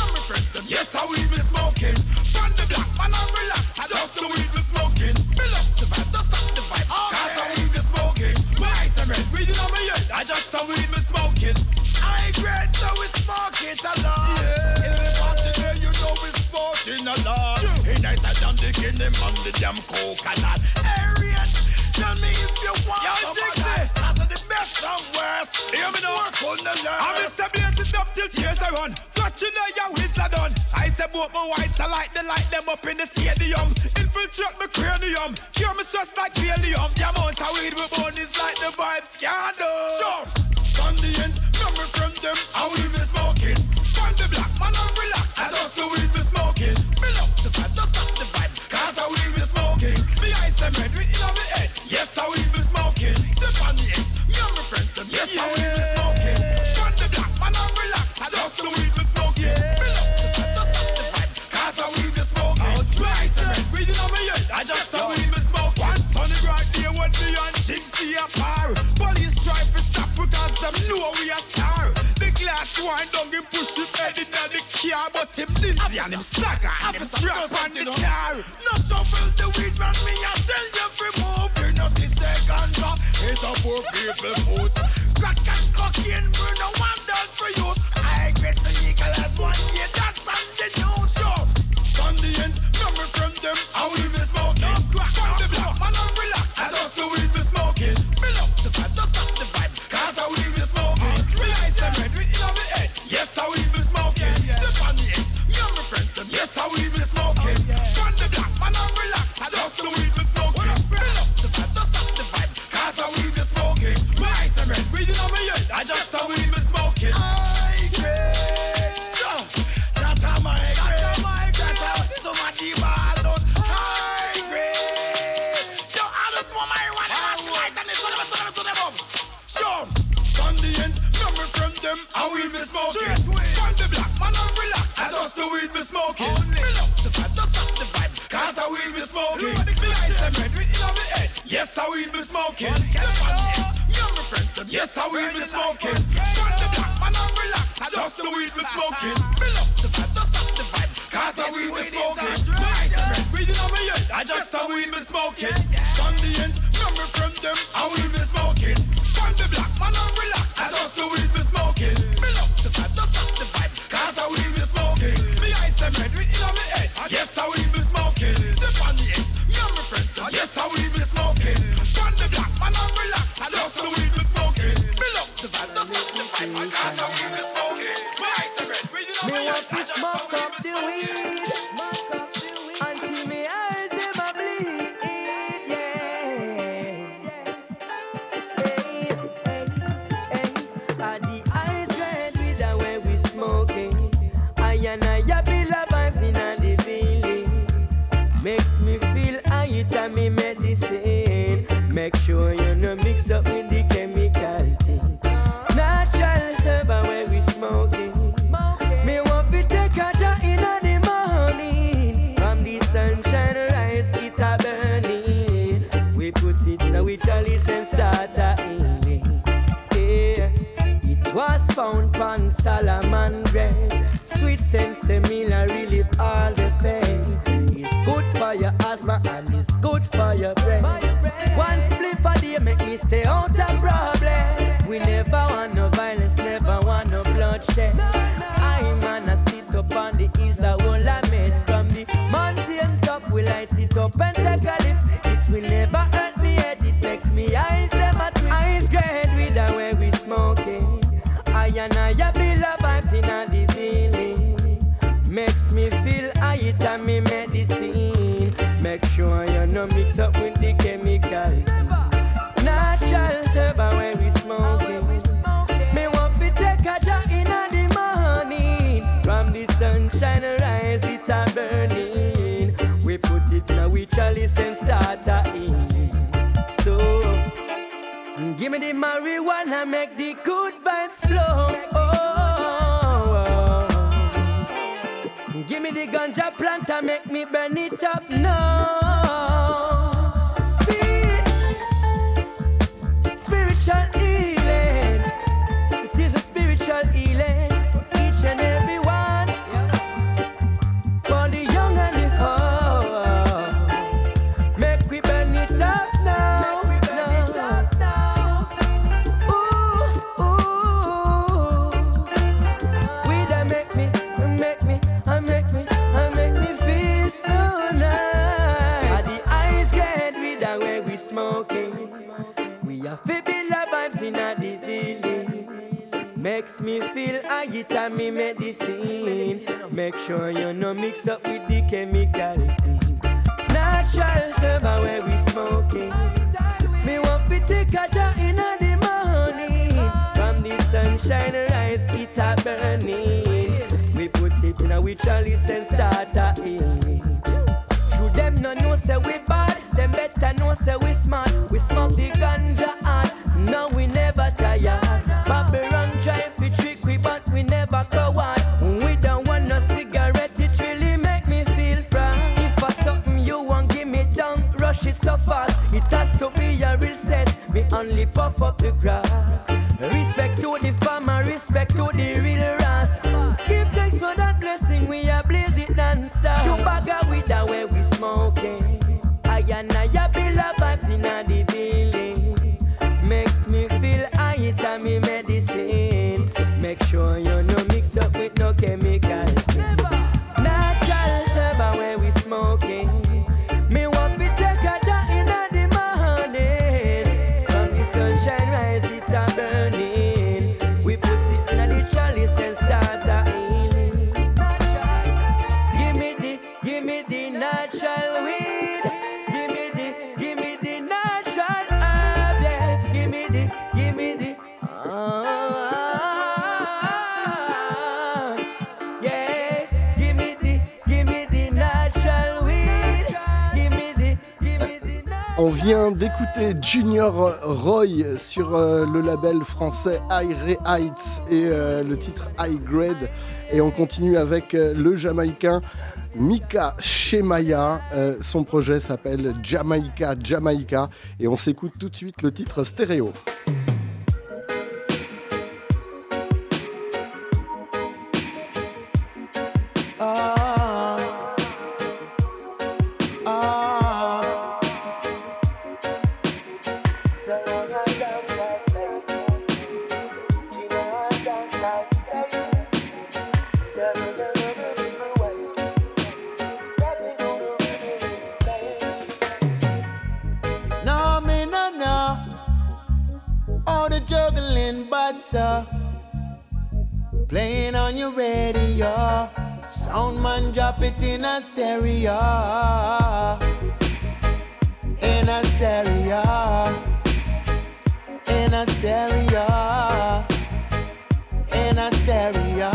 Yes, I will be smoking. On the black, man, I'm relaxed. Just the weed be smoking. Fill up the vibe, just stop the vibe. Cause I will be smoking. My eyes, the red, reading on my head. I just the weed be smoking. I great, so we smoke it a lot. Yeah. In the party there, you know we smoking a lot. Hey, nice, I done the kingdom on the damn coconut. Hey, Rich, tell me if you want some of that. That's the best and worst. Hear me now. Work on the line. I'm Mr. Blaze it up till tears I run. Got you know your whistle done. I said both my whites, I like them up in the stadium. Infiltrate my cranium. Cure me just like helium. The amount of weed we burn is like the vibes can do. Sure. On the ends, number from them, I will be smoking. On the black, man, I'm relaxed. I just the weed be smoking. Fill up the vibe, just stop the vibe. Cause I will be smoking. The ice, them red, with in on my head. Yes, I will be smoking. The on the ends, number from them. Yes, I will be smoking. On the black, man, I'm relaxed. I just the weed be smoking. Fill up the vibe, just stop the vibe. Cause I will be smoking. The ice, them red, with in on my head. I just the weed be smoking. One sunny bright day when me and Ching see a par. Police try to stop because them know we a star. The glass wine down him push him head in the car, but him dizzy and him stagger and him strap on the car. No shovel the weed man, me I tell you fi move. You know see second drop, it's a poor people foods. Crack and cocaine, burn no one done for you. I get the legal as 1 year, that's from the news show. On the ends, number from them, I will be smoking. On the block, man I'm relaxed, I just the weed be smoking. Fill up the vibe, just stop the vibe, cause I will be smoking. Realize them red, with in on my head. Yes, I will be smoking. The on the ends, you're my friend, yes, I will be smoking. On the block, man I'm relaxed, I just the weed be smoking. Fill up the vibe, just stop the vibe, cause I will be smoking. Realize them red, with in on my head. I just the weed be smoking. I great, that's how my great. That's how somebody ball out. I great. Yo, I just want marijuana, pass the light and turn them up. Sure. On the ends, number from them, I will be smoking. On the black, man, I'm relaxed. I just the weed be smoking. Fill up the vibe, just stop the vibe, cause I will be smoking. The ice, them red, with in on my head. Yes, I will be smoking. The on the ends, you're my friend, yes, I will be smoking. On the black, man, I'm relaxed. I just the weed be smoking. Fill up the vibe, just stop the vibe, cause I will be smoking. The ice, them red, with in on my head. I just the weed be smoking. On the ends, number from them, I will be smoking. On the black, man, I'm relaxed. I just the weed be smoking. Fill up the vibe, just stop the vibe, cause I will be smoking. The ice, them red, with in on my head. Yes, I will be smoking. The on the ends, you're my friend, yes, I will be smoking. On the black, man, I'm relaxed. I just the weed be smoking. Fill up the vibe, just stop the vibe, cause I will be smoking. The ice, them red, with in on my head. I just the weed be smoking. Until me eyes never bleed, yeah. Are the eyes red with the way we smoking? I and I feel the vibes in the feeling. Makes me feel I eat and me medicine. Make sure you no mix up with the chemical thing. Natural herb where we smoking. Me want to take a jar in the morning. From the sunshine rise, it's a burning. We put it in a chalice and start a healing. Yeah. It was found on Solomon bread. Sweet sense, similar relief all the pain. It's good for your asthma and it's good for your brain. One spliff a day make me stay out of problem. We never want no violence, never want no bloodshed. I man a sit up on the hills, I will mates from the mountain top. We light it up and take a lift. It will never hurt me head, it makes me eyes them a twist. Eyes great with the way we smoking. I and I feel the vibes in the feeling. Makes me feel I eat and me medicine. Make sure you no mix up with the chemicals. Natural herb when we smoking. Me want to take a shot in the morning. From the sunshine rise it a burning. We put it in a we chalice and start a in. So give me the marijuana, make the good vibes flow. Give me the ganja plant and make me burn it up now. See, spiritual healing. It is a spiritual healing. Each and every one. For the young and the old. Make we burn it up now. Makes me feel I get on me medicine. Make sure you no mix up with the chemical thing. Natural herb where we smoking. Me want to take a jar in the morning. From the sunshine rise, it a burning. We put it in a we chalice and start a in. Through them no know say we bad. Them better know say we smart. We smoke the ganja hard. No we never tired. Babylon try fi trick we but we never coward. We don't want no cigarette, it really make me feel fine. If for something you want give me don't rush it so fast. It has to be a real set, me only puff up the grass. Respect to the farmer, respect to the real ras. Give thanks for that blessing, we are blaze it non-stop. Chubaga with the way we smoking. I and I build a vibes in the building. Makes me feel I eat and me medicine. Make sure you no mix up with no chemical. Natural herb when we smoking. Me want to take a jar in the morning. From the sunshine rise it a burning. We put it in the chalice and start a healing. Give me the natural weed. Give me the natural herb. Yeah. Give me the. Yeah. Give me the natural weed. Give me the. On vient d'écouter Junior Roy sur le label français High Heights et le titre High Grade. Et on continue avec le Jamaïcain Mika Shemaya. Son projet s'appelle Jamaica. Et on s'écoute tout de suite le titre Stéréo. Playing on your radio, sound man drop it in a stereo, in a stereo, in a stereo, in a stereo.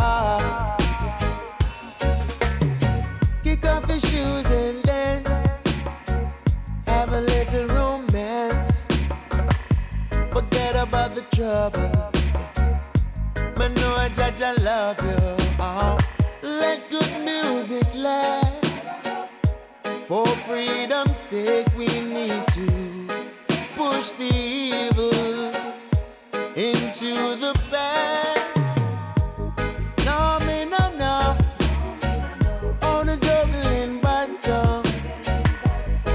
Kick off your shoes and dance, have a little romance, forget about the trouble. Man, know I judge I love you. Let good music last. For freedom's sake, we need to push the evil into the past. No, me no. On a juggling bad song.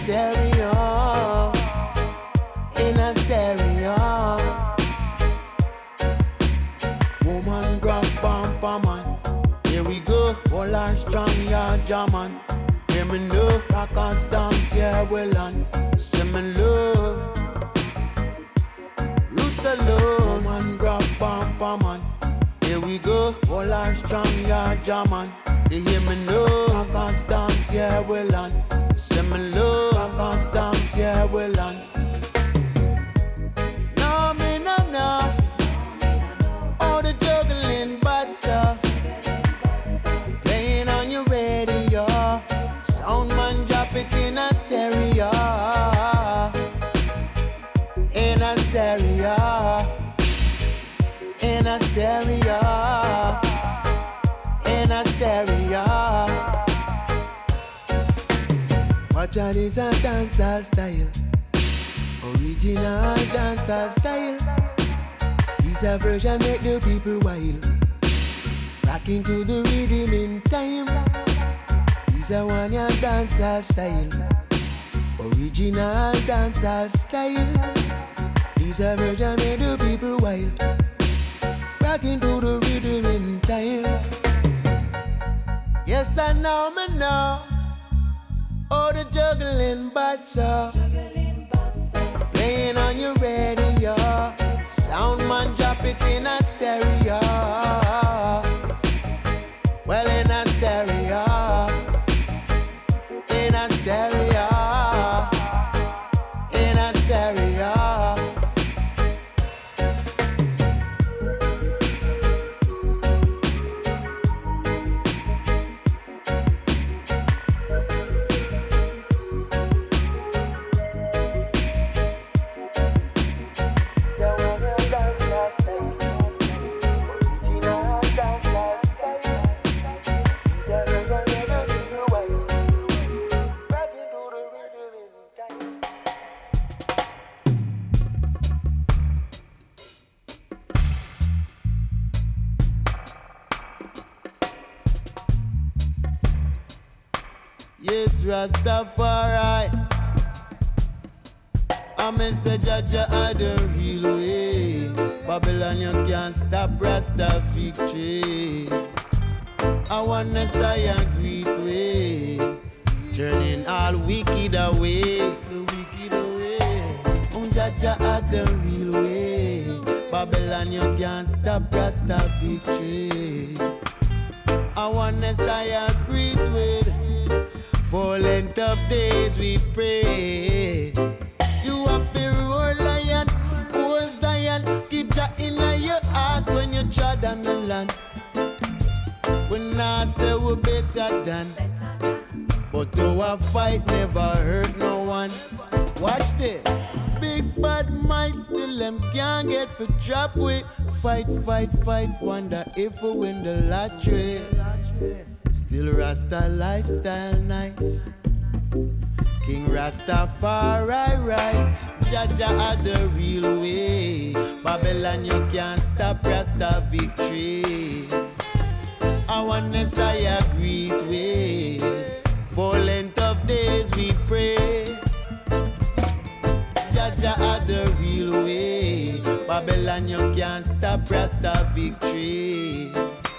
stereo, in a stereo. Woman grab bumper man, here we go. All our strong, yeah, German. Hear me know, rock and dance, yeah, well on. Say me love, roots alone. Woman grab bumper man, here we go. All our strong, yeah, German. You hear me know, rock and dance, yeah, well on. Say me love, rock and dance, yeah, well on. No, me no, no. All the juggling butts playing on your radio. Sound man drop it in a stereo. In a stereo. In a stereo. In a stereo. Watch out, is a dancehall style. Original dancehall style. This a version make the people wild. Rocking to the rhythm in time. This a one ya dancehall style. Original dancehall style. This a version make the people wild. Rocking to the rhythm in time. Yes, I know, me know. Oh, the juggling butts playing on your radio. Sound man drop it in a stereo. Well, in a stereo. In a stereo. In a stereo. Yes, Rastafari. I Mr. Jaja are the real way. Babylon, you can't stop Rasta victory. I want to say a great way, turning all wicked away. The wicked away. Jaja are the real way. Babylon, you can't stop Rasta victory. I want to say a great way. For length of days we pray. You have to roll lion, old Zion. Keep Jah in your heart when you tread on the land. When I say we better than, but our fight never hurt no one. Watch this. Big bad might still them can't get for trap way. Fight, fight, fight. Wonder if we win the lottery. Still Rasta lifestyle nice. King Rastafari right. Jaja are the real way. Babylon you can't stop Rasta victory. I wanna say a great way. For length of days we pray. Jaja are the real way. Babylon you can't stop Rasta victory.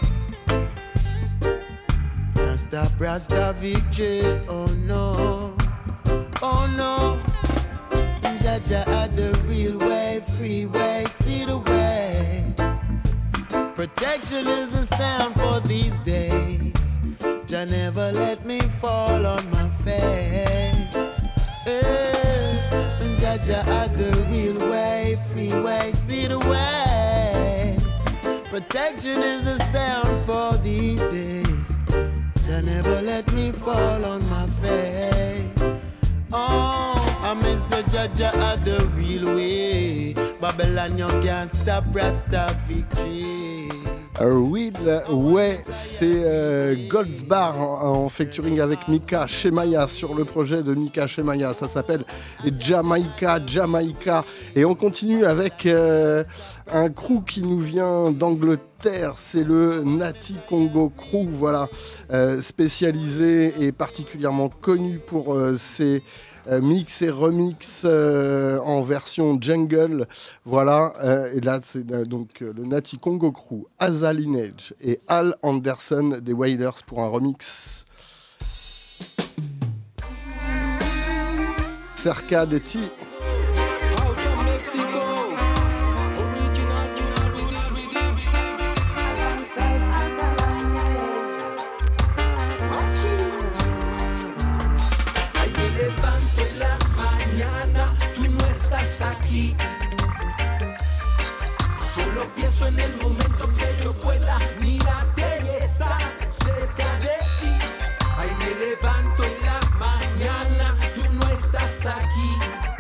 Stop Rasta victory, oh no, oh no. Jaja are the real way, free way, see the way. Protection is the sound for these days. Jah never let me fall on my face. Jaja are the real way, free way, see the way. Protection is the sound for these days. Jah never let me fall on my face. Oh, I miss the Jaja are the real way. Babylon you can't stop Rasta victory. Real Way, c'est Goldsbar en featuring avec Mika Shemaya sur le projet de Mika Shemaya. Ça s'appelle Jamaica. Et on continue avec un crew qui nous vient d'Angleterre. C'est le Nati Congo Crew, voilà, spécialisé et particulièrement connu pour ses mix et remix en version jungle. Voilà, et là c'est donc le Natty Congo Crew, Asa Lineage et Al Anderson des Wailers pour un remix. Cerca de Ti. Aquí solo pienso en el momento que yo pueda mirarte y estar cerca de ti. Ay, me levanto en la mañana, tú no estás aquí.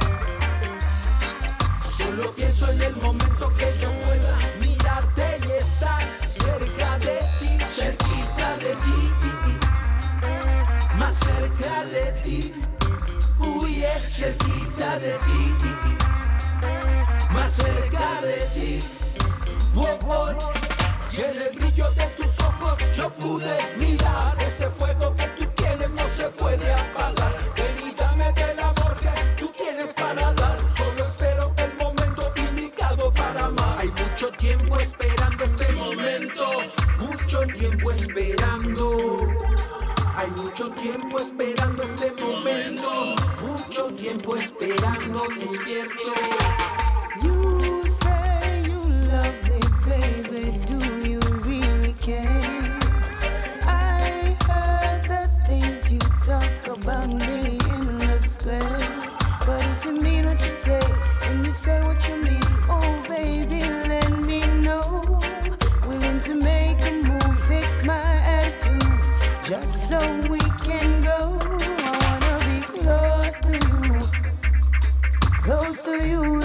Solo pienso en el momento que yo pueda mirarte y estar cerca de ti, cerquita de ti, más cerca de ti. Uy, cerquita de ti, más cerca de ti. Oh, oh. Y en el brillo de tus ojos yo pude mirar. Ese fuego que tú tienes no se puede apagar. Ven y dame del amor que tú tienes para dar. Solo espero el momento indicado para amar. Hay mucho tiempo esperando este momento, mucho tiempo esperando. Hay mucho tiempo esperando este momento, mucho tiempo esperando despierto. You say you love me, baby, do you really care? I heard the things you talk about me in the square. But if you mean what you say, and you say what you mean, oh baby, let me know. Willing to make a move, fix my attitude, just so we can go. I wanna be close to you, close to you,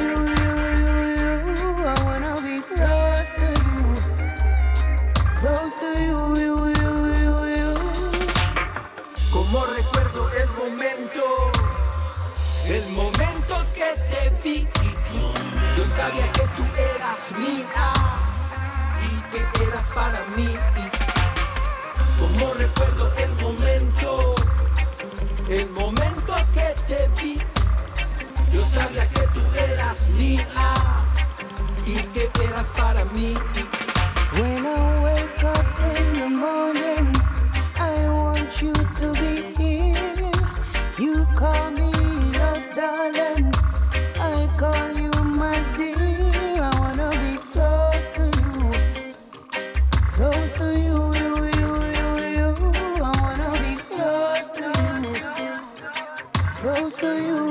I wanna be close to you, close to you. Como recuerdo el momento que te vi. Yo sabía que tú eras mía y que eras para mí. Como recuerdo el momento que te vi. Yo sabía que tú eras mía y que eras para mí. When I wake up in the morning, I want you to be here. You call me your darling, I call you my dear. I wanna be close to you, close to you. I wanna be close to you, close to you.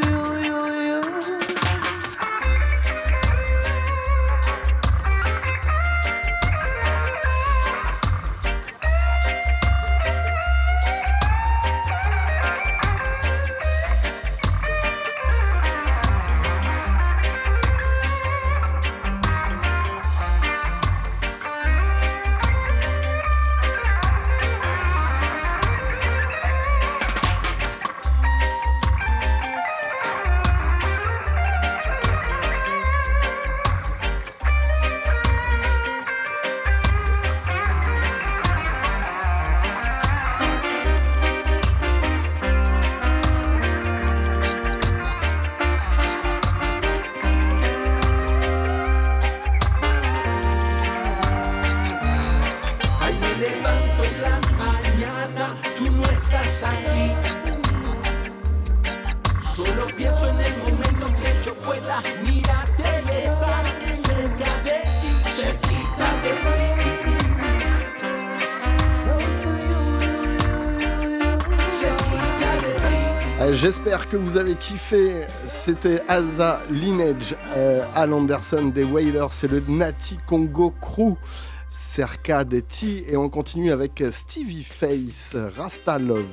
J'espère que vous avez kiffé. C'était Asa Lineage, Al Anderson des Wailers, c'est le Natty Congo Crew, Cerca de Ti, et on continue avec Stevie Face, Rasta Love.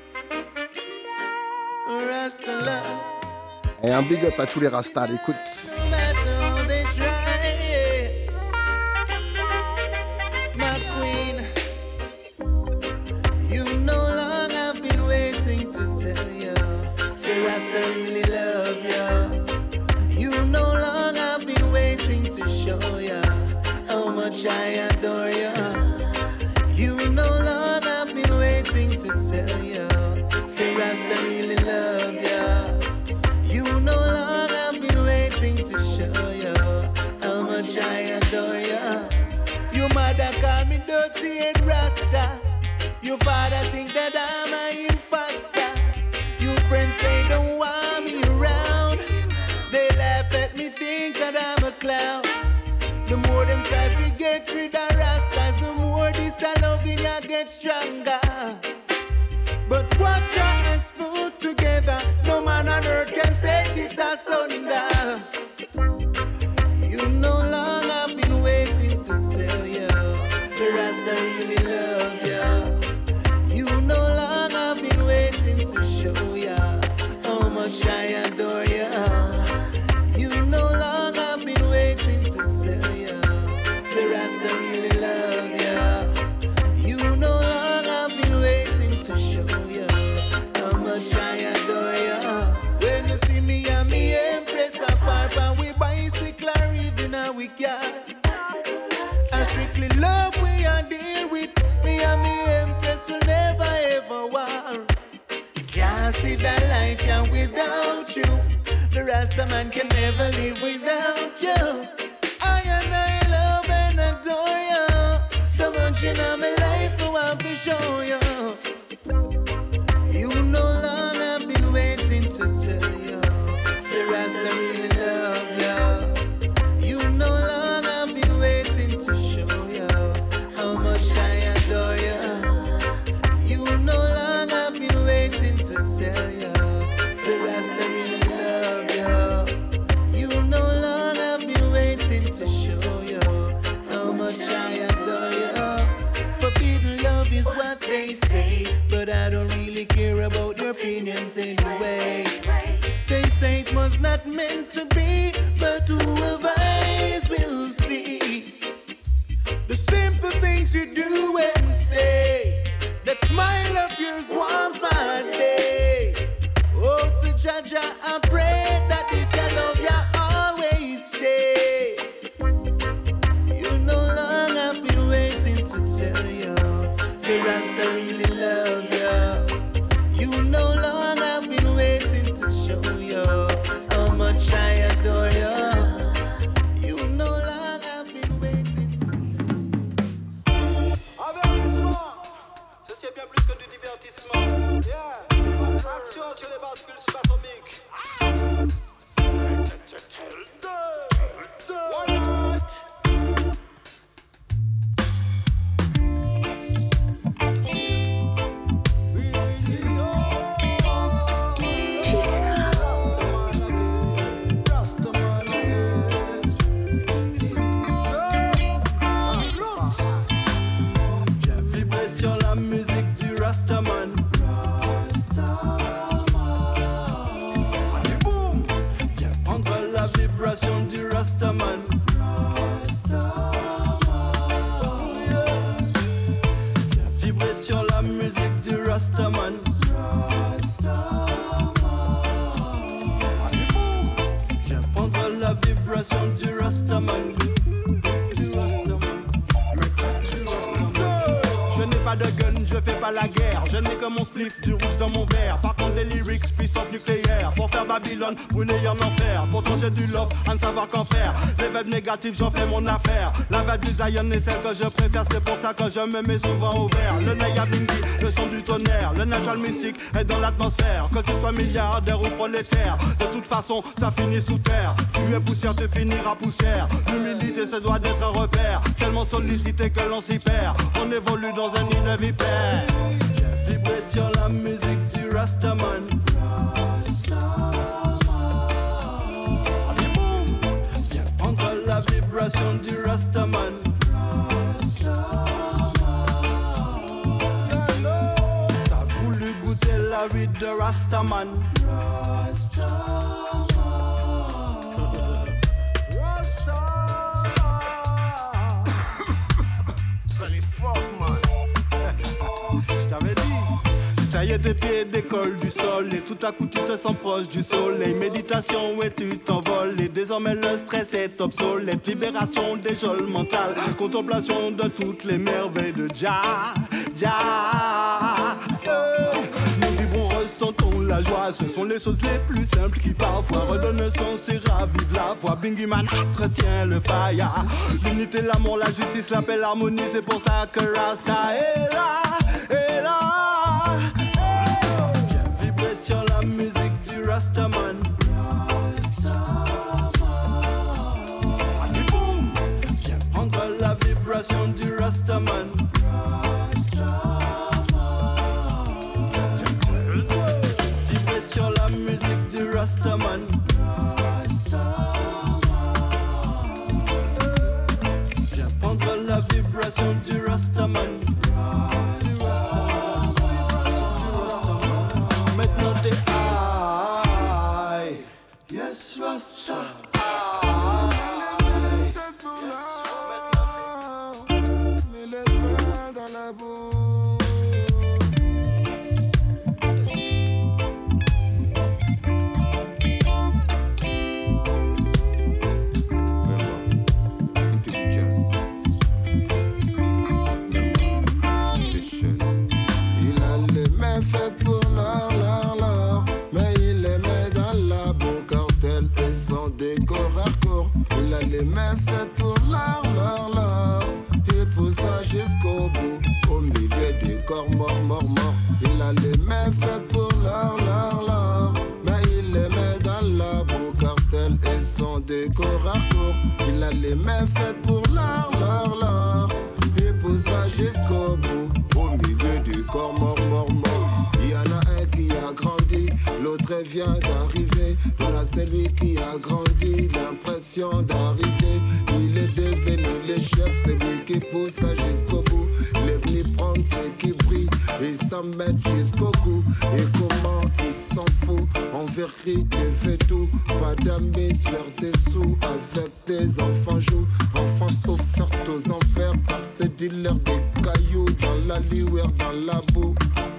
Rasta Love. Et un big up à tous les Rastas, écoute. Rasta really love ya. You know long I've been waiting to show ya how much I adore ya. You know long I've been waiting to tell ya. Say Rasta really love ya. much I adore you. You know long I've been waiting to tell you. Say Rasta really love you. You know long I've been waiting to show you how much I adore you. When you see me and me Empress apart, and we bicycle or even a we got. I strictly love we are deal with. Me and me Empress will never ever war. Can't see that life yeah, without you. The Rasta man can never live without you. I and I love and adore you. So much in my life I want to show you. You know long I've been waiting to tell you. Say Rasta really love you. You know long I've been waiting to show you how much I adore you. You know long I've been waiting to tell you. Say Rasta really love you. You know long I've been waiting to show you how much I adore you. Forbidden love is what they say, but I don't really care about their opinions anyway. They say it was not meant to be, but who have eyes will see. The simple things you do and say, that smile of yours warms my day. Oh, to Jaja, I pray that this your love you always stay. You know long I've been waiting to tell you. Say Rasta really love you. You know long I've been waiting to show you how much I adore you. You know long I've been waiting to tell you. Avertissement, ceci est bien plus que du divertissement. Yeah, action sur les bascules subatomiques. Why not? Sur la musique du Rastaman. Allez boum, viens prendre la vibration du Rastaman. Viens vibrer sur la musique du Rastaman. Allez boum, viens prendre la vibration du Rastaman. Pas de gun, je fais pas la guerre. Je n'ai que mon spliff, du rouge dans mon verre. Par contre des lyrics, puissance nucléaire. Pour faire Babylone, brûler en enfer. Pourtant j'ai du love, à ne savoir qu'en faire. Les vibes négatives, j'en fais mon affaire. La vibe du Zion est celle que je préfère. C'est pour ça que je me mets souvent au vert. Le Naya Bingi, le son du tonnerre. Le natural mystique est dans l'atmosphère. Que tu sois milliardaire ou prolétaire, de toute façon ça finit sous terre. Tu es poussière, tu finiras poussière. L'humilité, ça doit être un repère. Tellement sollicité que l'on s'y perd. On évolue dans un nid de vipère. Viens vibrer sur la musique du Rastaman. Allez boum, viens prendre la vibration du Rastaman. T'as voulu goûter la vie de Rastaman. Ça y est, tes pieds décollent du sol et tout à coup tu te sens proche du soleil. Méditation et tu t'envoles et désormais le stress est obsolète. Libération des geôles mentales, contemplation de toutes les merveilles de Jah. Nous vibrons, ressentons la joie. Ce sont les choses les plus simples qui parfois redonnent sens et ravivent la voix. Bingy Man entretient le fire. L'unité, l'amour, la justice, la paix, l'harmonie. C'est pour ça que Rasta est là, est là. Viens vibrer sur la musique du Rastaman. Allez boum, viens prendre la vibration du Rastaman. Vibrer sur la musique du Rastaman. Viens prendre la vibration du Rastaman. Maintenant t'es high. Yes, Rasta. Mets les mains dans la bouche. Faites pour l'or, mais il les met dans la boue cartel et son décor hardcore. Il a les mains faites pour l'or, il pousse ça jusqu'au bout, au milieu du corps mort. Il a les mains faites pour l'or, mais il les met dans la boue cartel et son décor hardcore. Il a les mains faites pour l'or, il pousse ça jusqu'au bout, au milieu du corps mort. Il y en a un qui a grandi, l'autre vient d'arriver. Dans la celui qui a grandi, l'impression d'arriver. Il est devenu le chef, c'est lui qui pousse ça jusqu'au bout. Il est venu prendre ce qui brille et s'en mettre jusqu'au cou. Et comment il s'en fout, en vérité fait tout. Pas d'amis, faire des sous avec des enfants joues. Enfants offertes aux enfers par ces dealers des cailloux. Dans la lueur, dans la boue.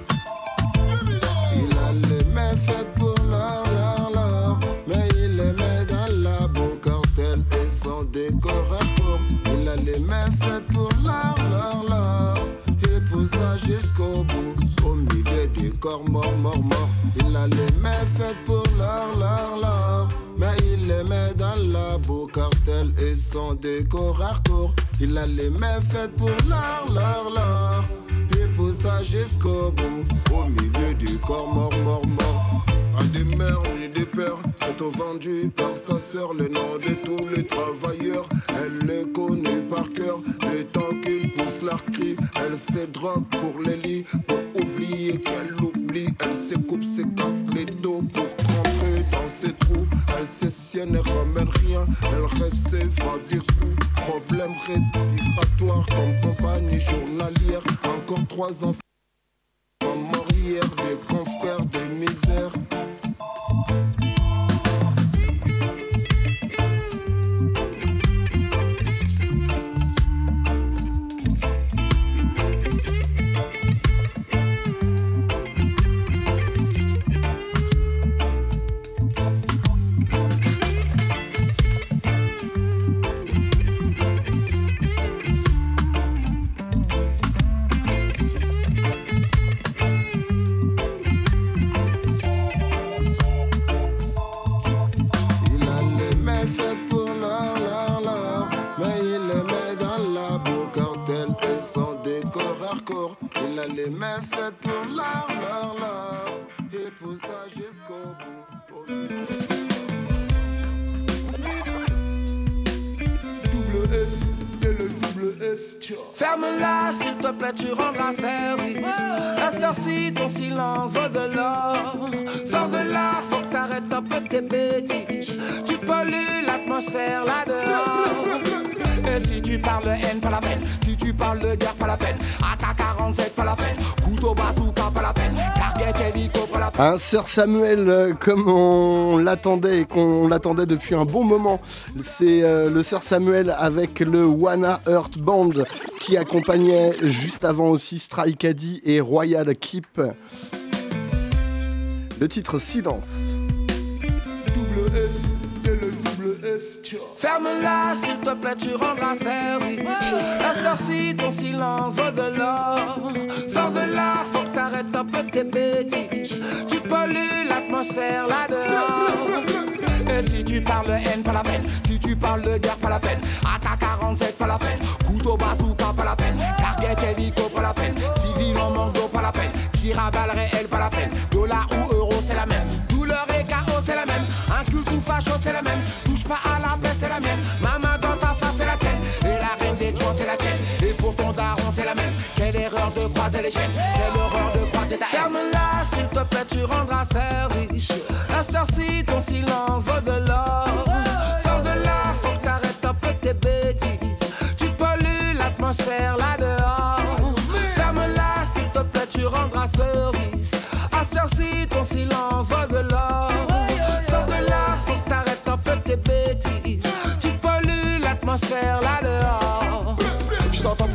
Il a les mains faites pour l'or, mais il les met dans la boue cartel et son décor hardcore. Il a les mains faites pour l'or, il pousse ça jusqu'au bout, au milieu du corps mort. Il a les mains faites pour l'or, mais il les met dans la boue cartel et son décor hardcore. Il a les mains faites pour l'or, il pousse ça jusqu'au bout, au milieu du corps mort. À des mères et des pères, sont vendus par sa sœur, le nom de tous les travailleurs. Elle les connaît par cœur, le temps qu'ils poussent leur cri. Elle se drogue pour les lits, pour oublier qu'elle oublie. Elle se coupe, se casse les dos pour tremper dans ses trous. Elle s'essienne et ramène rien, elle recevra des coups. Problème respiratoire comme compagnie journalière. Encore 3 enfants morts hier, des confrères de misère. Il a les mains faites pour l'or, et pousse ça jusqu'au bout. Double S, c'est le double S. Ferme-la, s'il te plaît, tu rendras service. À cette heure-ci, ton silence vaut de l'or. Sors de là, faut que t'arrêtes un peu tes bêtises. Tu pollues l'atmosphère là-dehors. Et si tu parles de haine, pas la peine. Si tu parles de guerre, pas la peine. AK-47, pas la peine. Couteau bazooka, pas la peine. Target hélico, pas la peine. Un Sir Samuel, comme on l'attendait et qu'on l'attendait depuis un bon moment. C'est le Sir Samuel avec le Wanna Earth Band qui accompagnait juste avant aussi Strike Addy et Royal Keep. Le titre Silence. Double S, c'est le double S. Ferme-la, s'il te plaît, tu rendras service. À cette heure-ci, ton silence vaut de l'or. Sors de là, faut que t'arrêtes un peu tes bêtises. Tu pollues l'atmosphère là-dehors. Et si tu parles de haine, pas la peine. Si tu parles de guerre, pas la peine. AK-47, pas la peine. Couteau bazooka, pas la peine. Target hélico, pas la peine. Civil en manque d'eau, pas la peine. Tir à balles réelles, pas la peine. Dollar ou euro, c'est la même. Douleur et chaos, c'est la même. Un culte ou facho, c'est la même. Touche pas à la paix, c'est la mienne. Maman dans ta face, c'est la tienne. Et la reine des dieux, c'est la tienne. Et pour ton daron, c'est la même. Quelle erreur de croiser les chaînes. Quelle horreur de croiser ta haine. Ferme-la, s'il te plaît, tu rendras service. À cette heure-ci, ton silence vaut de l'or. Sors de là, faut que t'arrêtes un peu tes bêtises. Tu pollues l'atmosphère là-dehors. Ferme-la, s'il te plaît, tu rendras service. À cette heure-ci, ton silence vaut de l'or. Sors de là, faut que t'arrêtes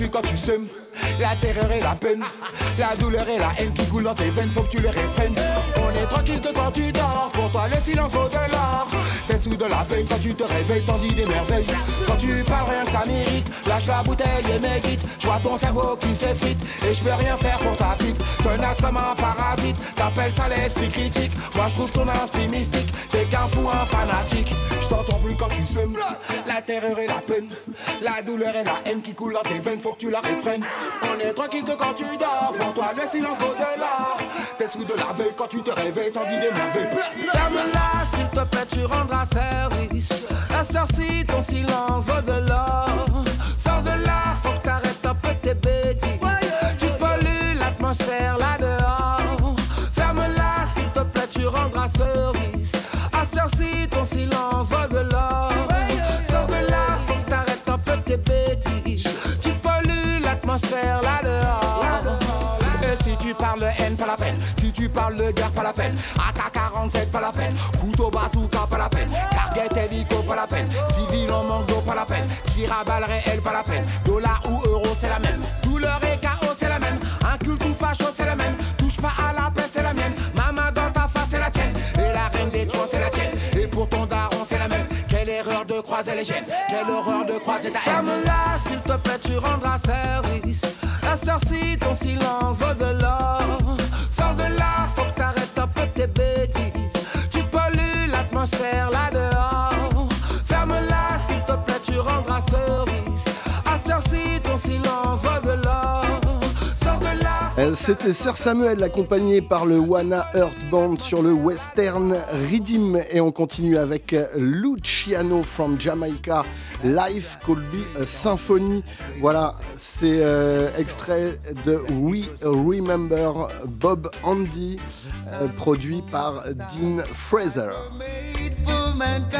plus quand tu sèmes. La terreur et la peine, la douleur et la haine qui coulent dans tes veines, faut que tu les réfrènes. On est tranquille que quand tu dors, pour toi le silence vaut de l'or. T'es sous de la veille quand tu te réveilles, t'en dis des merveilles. Quand tu parles rien que ça mérite, lâche la bouteille et médite. Je vois ton cerveau qui s'effrite et je peux rien faire pour ta pipe. Tenace comme un parasite, t'appelles ça l'esprit critique. Moi je trouve ton esprit mystique, t'es qu'un fou, un fanatique. Je t'entends plus quand tu sèmes. La terreur et la peine, la douleur et la haine qui coulent dans tes veines, faut que tu la réfrènes. On est tranquille que quand tu dors, pour toi le silence vaut de l'or. T'es sous de la veille quand tu te réveilles, t'en dis des merveilles. Ferme-la s'il te plaît, tu rendras service. À cette heure-ci, ton silence vaut de l'or. Sors de là, faut que t'arrêtes un peu tes bêtises. Tu pollues l'atmosphère là dehors. Ferme-la s'il te plaît, tu rendras service. À cette heure-ci, ton silence vaut de l'or. Sors de là, faut que t'arrêtes un peu tes bêtises. Tu pollues l'atmosphère là dehors. Et si tu parles de haine, pas la peine. Si tu parles de guerre, pas la peine. AK-47, pas la peine. Couteau bazooka, pas la peine. Target hélico, pas la peine. Civil en manque d'eau, pas la peine. Tir à balles réel, pas la peine. Dollar ou euro, c'est la même. Douleur et chaos, c'est la même. Inculte ou facho, c'est la même. Touche pas à la paix, c'est la mienne. Maman dans ta face, c'est la tienne. Et la reine des tuants, c'est la tienne. Et pour ton daron, c'est la même. Quelle erreur de croiser les gènes. Quelle horreur de croiser ta haine. Ferme-la, s'il te plaît, tu rendras service. À cette heure-ci, ton silence vaut de l'or. Sors de là, faut que t'arrêtes un peu tes bêtises. Tu pollues l'atmosphère là dehors. Ferme-la, s'il te plaît, tu rendras service. À cette heure-ci, ton silence vaut de l'or. Sors de là. C'était Sir Samuel accompagné par le Wanna Earth Band sur le Western Rhythm. Et on continue avec Luciano from Jamaica. Life Could Be a Symphony. Voilà, c'est extrait de We Remember Bob Andy, produit par Dean Fraser. Made for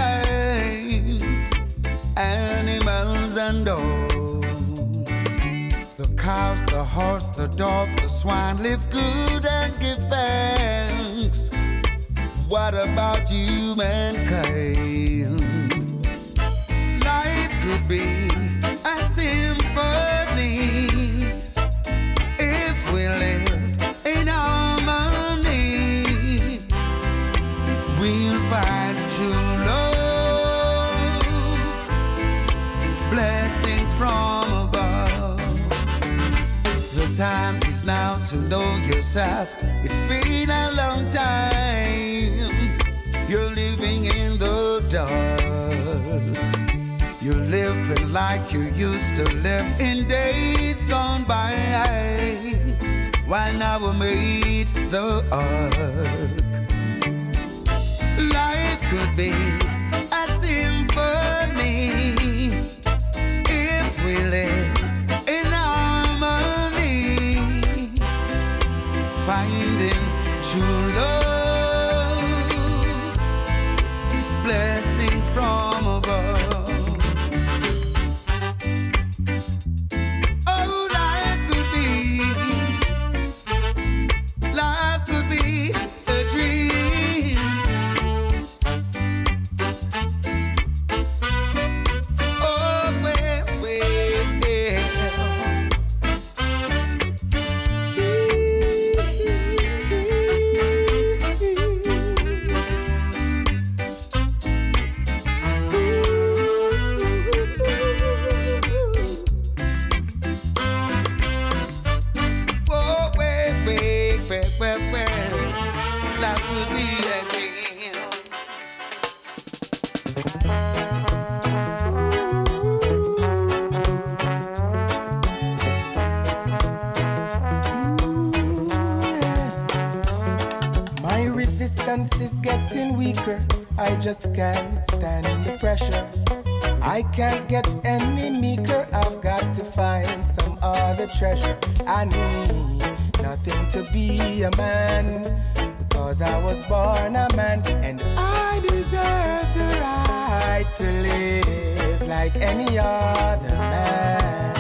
mankind, animals and dogs. The cows, the horse, the dogs, the swine live good and give thanks. What about you, mankind? Life could be a symphony if we live in harmony. We'll find true love, blessings from above. The time is now to know yourself. It's been a long time. You're living in the dark. You're living like you used to live in days gone by, while now we made the ark. Life could be a symphony if we lived in harmony, finding true love, blessings from above. I just can't stand the pressure. I can't get any meeker. I've got to find some other treasure. I need nothing to be a man, because I was born a man, and I deserve the right to live like any other man.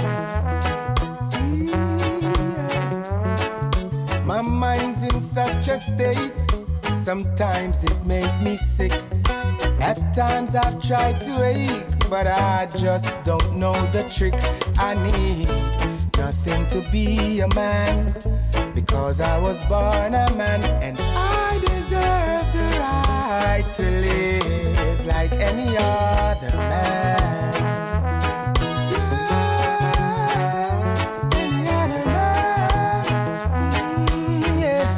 Yeah. My mind's in such a state, sometimes it makes me sick. At times I've tried to ache, but I just don't know the trick. I need nothing to be a man, because I was born a man, and I deserve the right to live like any other man. Yeah, any other man.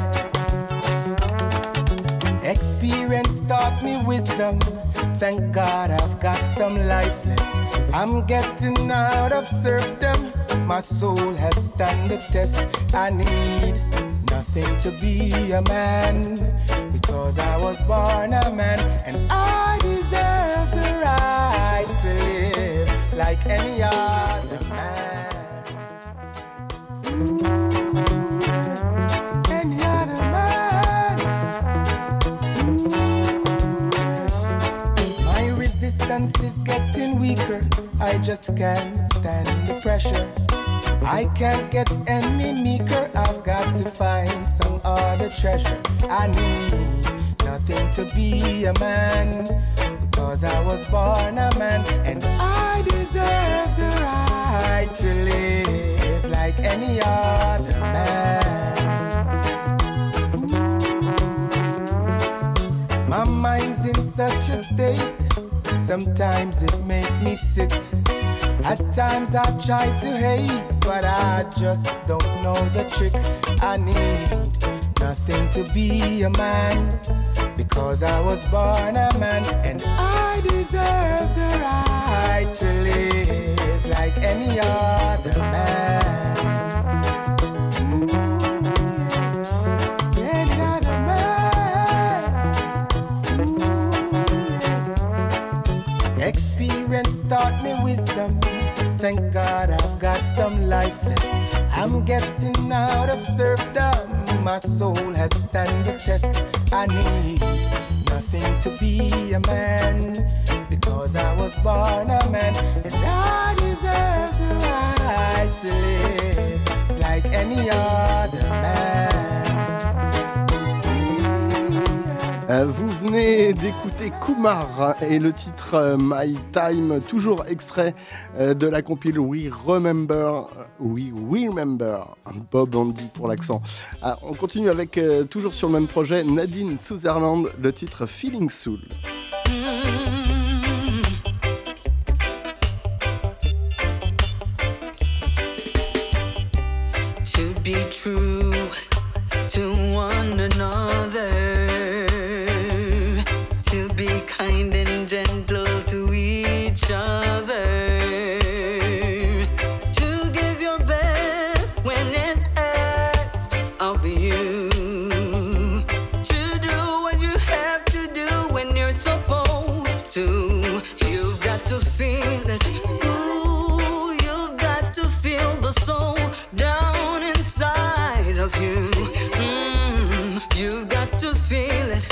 Yeah. Experience taught me wisdom. Thank God I've got some life left. I'm getting out of serfdom. My soul has stand the test. I need nothing to be a man, because I was born a man, and I deserve the right to live like any other man. Ooh, any other man. Ooh, my resistance is getting weaker. I just can't stand the pressure. I can't get any meeker. I've got to find some other treasure. I need nothing to be a man, because I was born a man, and I deserve the right to live like any other man. My mind's in such a state, sometimes it makes me sick. At times I try to hate, but I just don't know the trick. I need nothing to be a man, because I was born a man, and I deserve the right to live like any other man. Ooh, yes. Any other man. Ooh, yes. Experience taught me wisdom. Thank God I've got some life left. I'm getting out of serfdom. My soul has stand the test. I need nothing to be a man, because I was born a man, and I deserve the right to live like any other man. Vous venez d'écouter Kumar et le titre My Time, toujours extrait de la compile We Remember, Bob Andy pour l'accent. On continue avec, toujours sur le même projet, Nadine Sutherland, le titre Feeling Soul. To be true to one another, to be kind and gentle to each other, to give your best when it's asked of you, to do what you have to do when you're supposed to. You've got to feel it. Ooh, you've got to feel the soul down inside of you. You've got to feel it.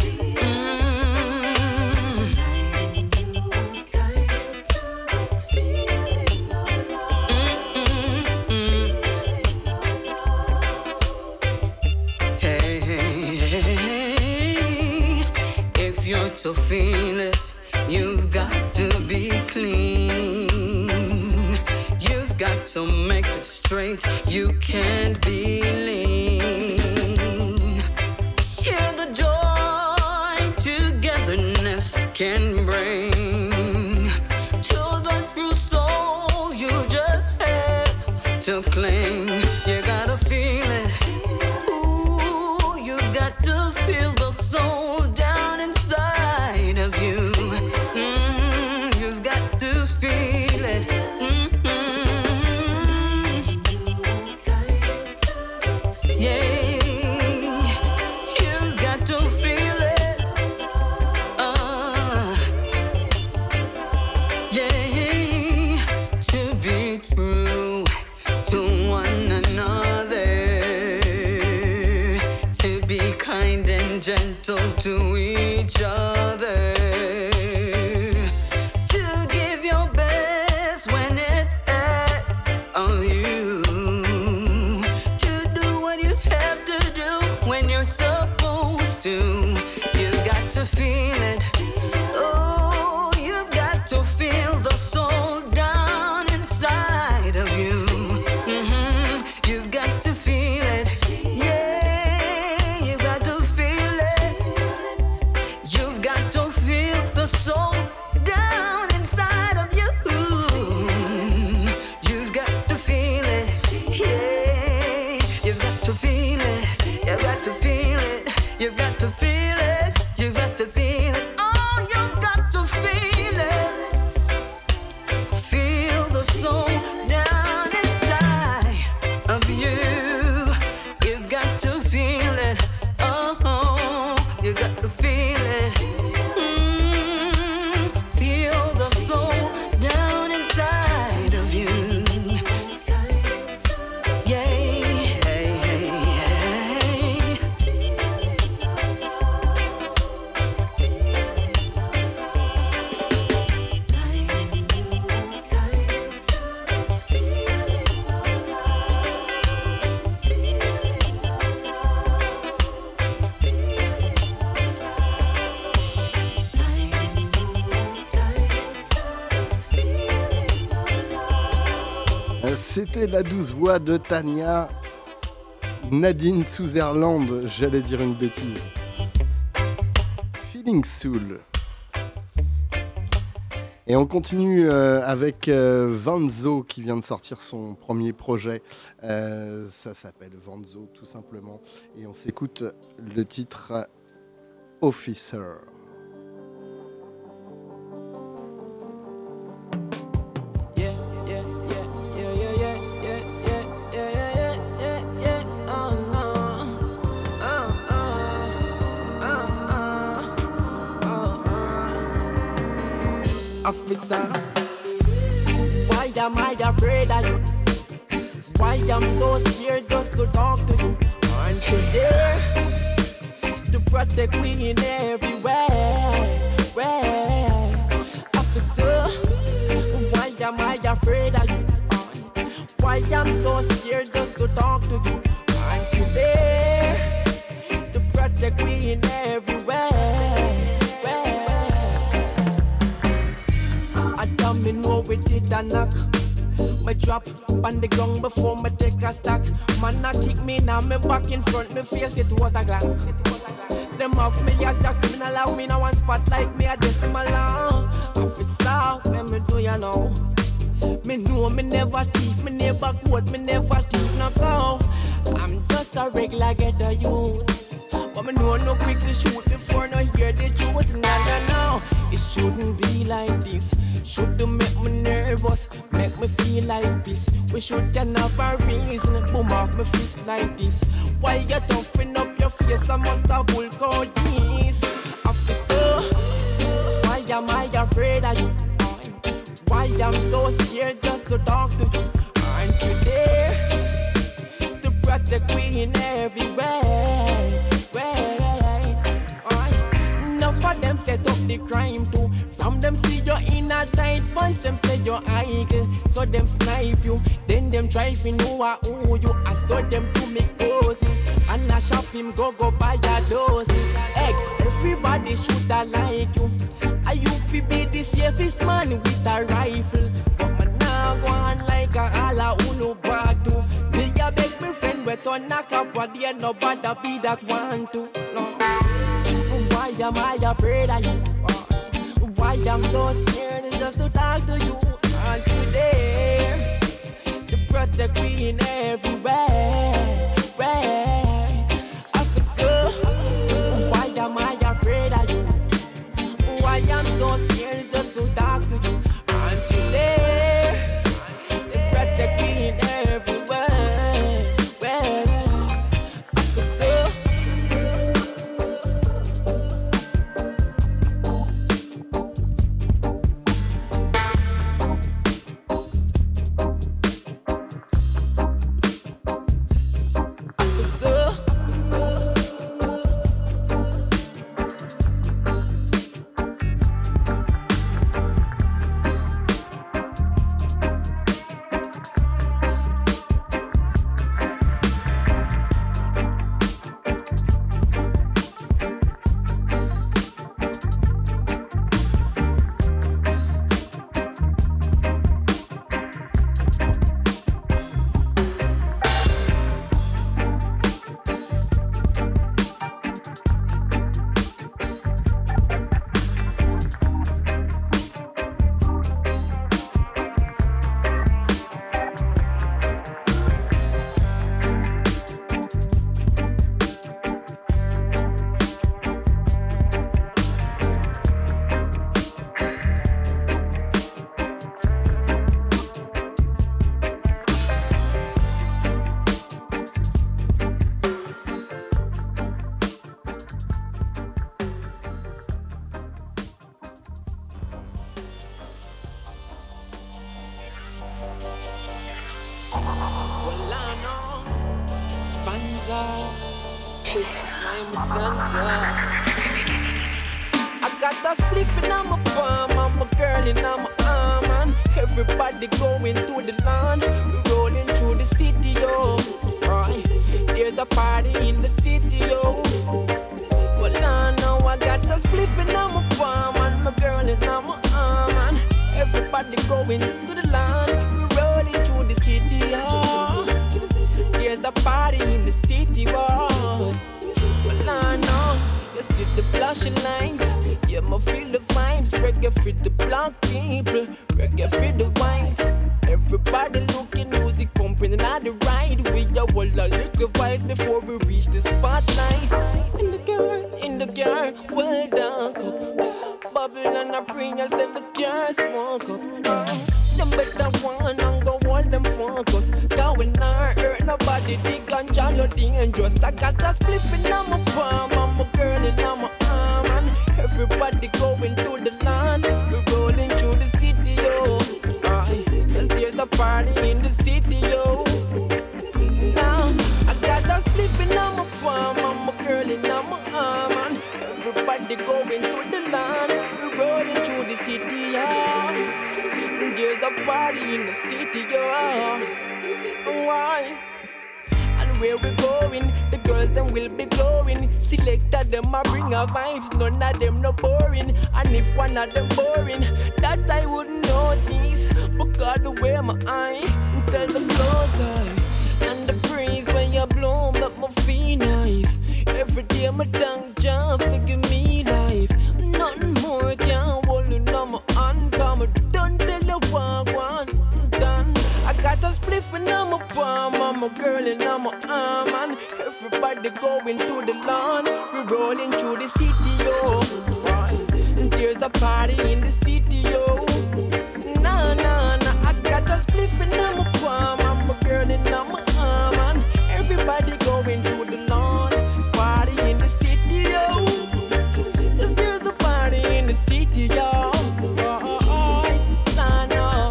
To feel it, you've got to be clean. You've got to make it straight. You can't be lean. Share the joy togetherness can bring to the true soul. You just have to cling. You gotta feel it. Ooh, you've got to feel the soul down inside of you. You've got to feel it. Yeah, you've got to feel it. Yeah, to be true to one another, to be kind and gentle to each other. Feel it. Oh, you've got to feel the soul down inside of you. C'était la douce voix de Tania Nadine Sutherland, j'allais dire une bêtise. Feeling Soul. Et on continue avec Vanzo qui vient de sortir son premier projet. Ça s'appelle Vanzo tout simplement. Et on s'écoute le titre Officer. Officer, why am I afraid of you? Why am so scared just to talk to you? Aren't you there to protect me in everywhere? Officer, why am I afraid of you? Why am so scared just to talk to you? Aren't you there to protect me in everywhere? Me know we did a knock. Me drop on the ground before me take a stack. Man a kick me now, me back in front, me face it was a glass. Them have me as a criminal, and me no one spot like me a decimal long. Officer, when me do you know? Me know me never thief, me never quote, me never thief no go. I'm just a regular ghetto youth. But me know no quickly shoot before no hear the truth. No. It shouldn't be like this. Should to make me nervous, make me feel like this. We should turn off our reason, boom off my fist like this. Why you toughing up your face? I must have bull code this. Officer, why am I afraid of you? Why I'm so scared just to talk to you? Aren't you there to protect me in everywhere? Enough of them set up the crime too. From them see you in a tight pants, them say you're idle. So them snipe you, then them try to know who you. I saw them to make cozy, and I shop him go buy a dozen. Egg, everybody should I like you. I you fi be the safest man with a rifle. But man now go on like a ala unu badu. Me a beg me friend we to knock up what the nobody be that want to. No. Why am I afraid of you? Why I'm so scared just to talk to you? Aren't you there to protect me in everywhere? Officer, why am I afraid of you? Why I'm so scared just to talk to you? Aren't you there to protect me in everywhere? Officer. I got a spliff in my palm and my girl in my arm, and everybody going to the land. We rolling through the city, yo. Right, there's a party in the city, yo. Well, I know I got a spliff in my palm and my girl in my arm, and everybody going to the land. We rolling through the city. lines. Yeah, me feel the vibes. Reggae for the black people, reggae for the white. Everybody looking, music pumping and the ride. We a whole a little vibes before we reach the spotlight. In the car, well dark up. Bubble and a bring us in the car, smoke up. Them better one and go hold them focus. Going not hurt nobody, the ganja no dangerous. I got a spliff in my palm, I'm a girl in my arm. And everybody going to the land, we're rolling through the city, yo. Cause there's a party in the city, yo. Now, I got a spliff in my palm, I'm a girl in my arm. And everybody going to the land, we're rolling through the city, yo. There's a party in the city, yo. Why? And where we going, the girls them will be glowing. Selected them a bring a vibes, none of them no boring. And if one of them boring, that I wouldn't notice. Because the way my eye, tell the clothes eye. And the breeze when you blow, make me feel nice. Every day my tongue jump, figure me life. Nothing more can hold you on my hand. Come done tell you one done. I got a spliff in my palm, I'm a girl in my arm. And everybody going to the lawn, we're rolling through the city, yo. And there's a party in the city, yo. Nah, nah, nah, I got a spliff in my palm, I'm a girl in my arm. And everybody going to the lawn, party in the city, yo. There's a party in the city, yo. Nah, nah.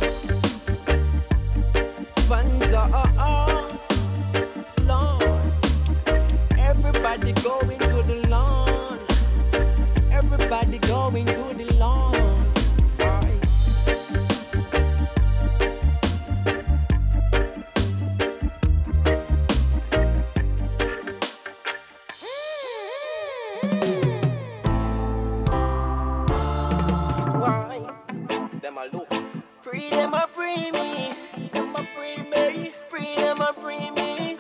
Lawn. Everybody going to the lawn. Everybody going to the lawn. Why? Them a look. Free them a free me. Them a free me. Free them a free me.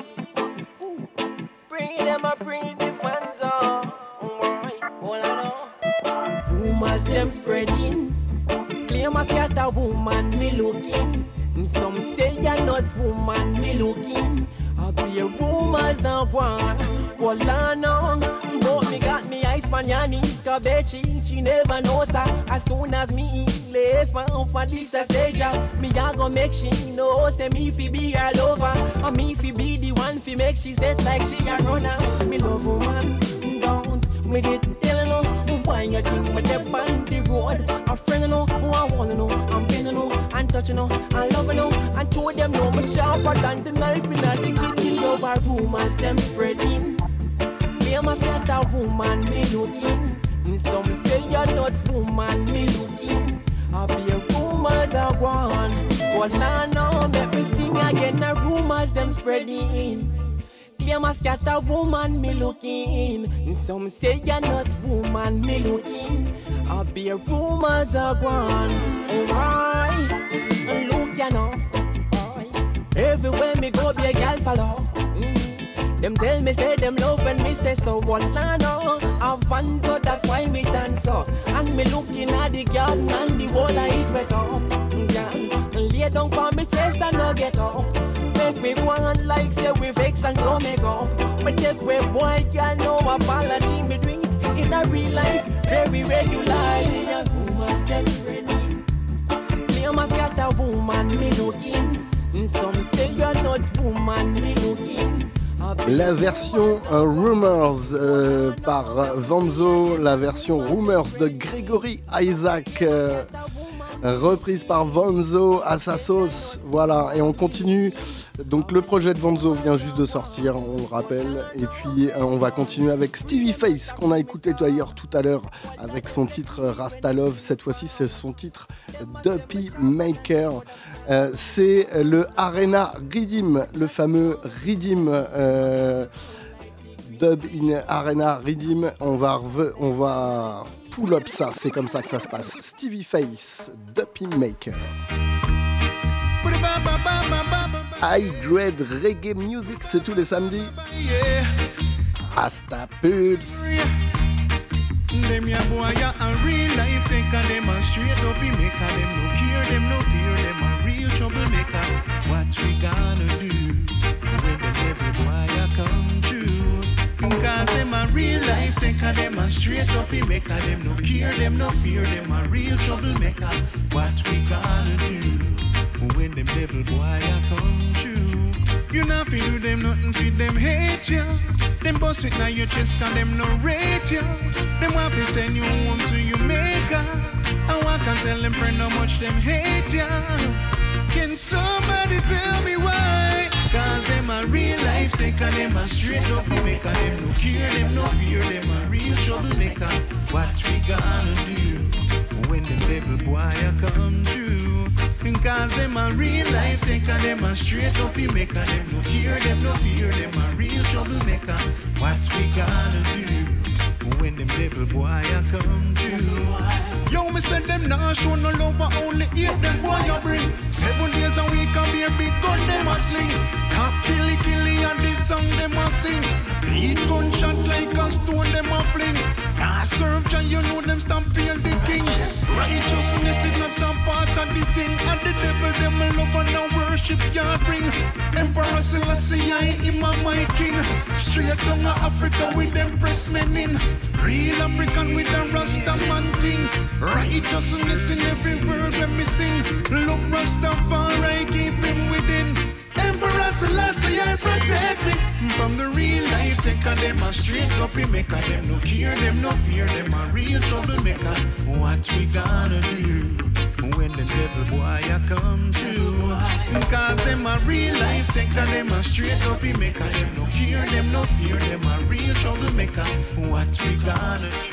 Free them a free the fans on. Why? All I know. Rumors them spreading. Claim a scatter woman me looking. Some say you're not woman me looking. I be rumors and one. All I know. But me got me ice man yani. Kabechi, she never knows her. As soon as me left for this stage, me a go make she know. Say me fi be her lover. And me fi be the one fi make she set like she a runner. Me love woman, don't me did tell her no. Why you think me dey on the road? A friend you know, who I wanna know. I'm been you know, and touch you know, and love you know. And two of them know me sharper than the knife in the kitchen. Over rumors them spreading. Me must get a woman me looking. Some say you're not woman me looking. I be a rumors are gone. But now no, make me sing again. The rumors them spreading. Claim a scatter woman me looking. Some say you're not woman me looking. I be a rumors are gone. Alright, look you know. Everywhere me go be a gal follow. Them tell me say them love when me say so. What I know, I fun so that's why me dance so. And me looking at the garden and the wall I eat wet up. Girl, lay down for me chest and no get up. Make me one like say we vex and no make up. But take way boy can no apology me do it in a real life very regularly. Rumors them spreading. Claim a got a woman me looking. Some say you're not woman me looking. La version Rumors par Vanzo, la version Rumors de Gregory Isaac, reprise par Vanzo à sa sauce. Voilà, et on continue. Donc le projet de Vanzo vient juste de sortir, on le rappelle. Et puis on va continuer avec Stevie Face, qu'on a écouté d'ailleurs tout à l'heure avec son titre Rasta Love. Cette fois-ci, c'est son titre Duppy Maker. C'est le Arena Rhythm, le fameux Rhythm, Dub in Arena Rhythm. On va pull up ça, c'est comme ça que ça se passe. Stevie Face, Duppy Maker. High Grade Reggae Music, c'est tous les samedis. Rasta Pulse. them ya boy ya a real life taker. Them a straight up he maker. Them no care, them no fear. Them a real troublemaker. What we gonna do when them every boy ya come true? Cause them a real life taker. Them a straight up he maker. Them no care, them no fear. Them a real troublemaker. What we gonna do when them devil boy ya come true? You not fi do them nothing fi them hate ya. Them bust it now your chest cause them no rate ya. Them want to send you home to your maker. And one can tell them friend how much them hate ya. Can somebody tell me why? Cause them a real life taker. Them a straight up maker. Them no care, them no fear. Them a real troublemaker. What we gonna do when the devil boy a come true? Cause them a real life taker. Them a straight up maker. Them no care, them no fear. Them a real troublemaker. What we gonna do when them devil boy a come true? Yo, me said them nah show no love but only hate them boy you bring. 7 days a week and be a big gun them a sling. Top killy and this song them a sing. Beat gunshot like a stone them a fling. Nah serve Jah, you know them stamp feel the king. Righteousness is not a part of the thing. And the devil them a love and a worship you bring. Emperor Selassie I him a my king. Straight down to Africa with them press men in. Real African with a Rasta man thing. Righteousness in every word when me sing. Love Rastafari keep him within. Emperor Selassie I protect me from the real life taker. Them a straight up maker. Them no care, them no fear. Them a real troublemaker. What we gonna do when the devil boy a come true? Cause them a real life taker. Them a straight up maker. Them no care, them no fear. Them a real troublemaker. What we gonna do?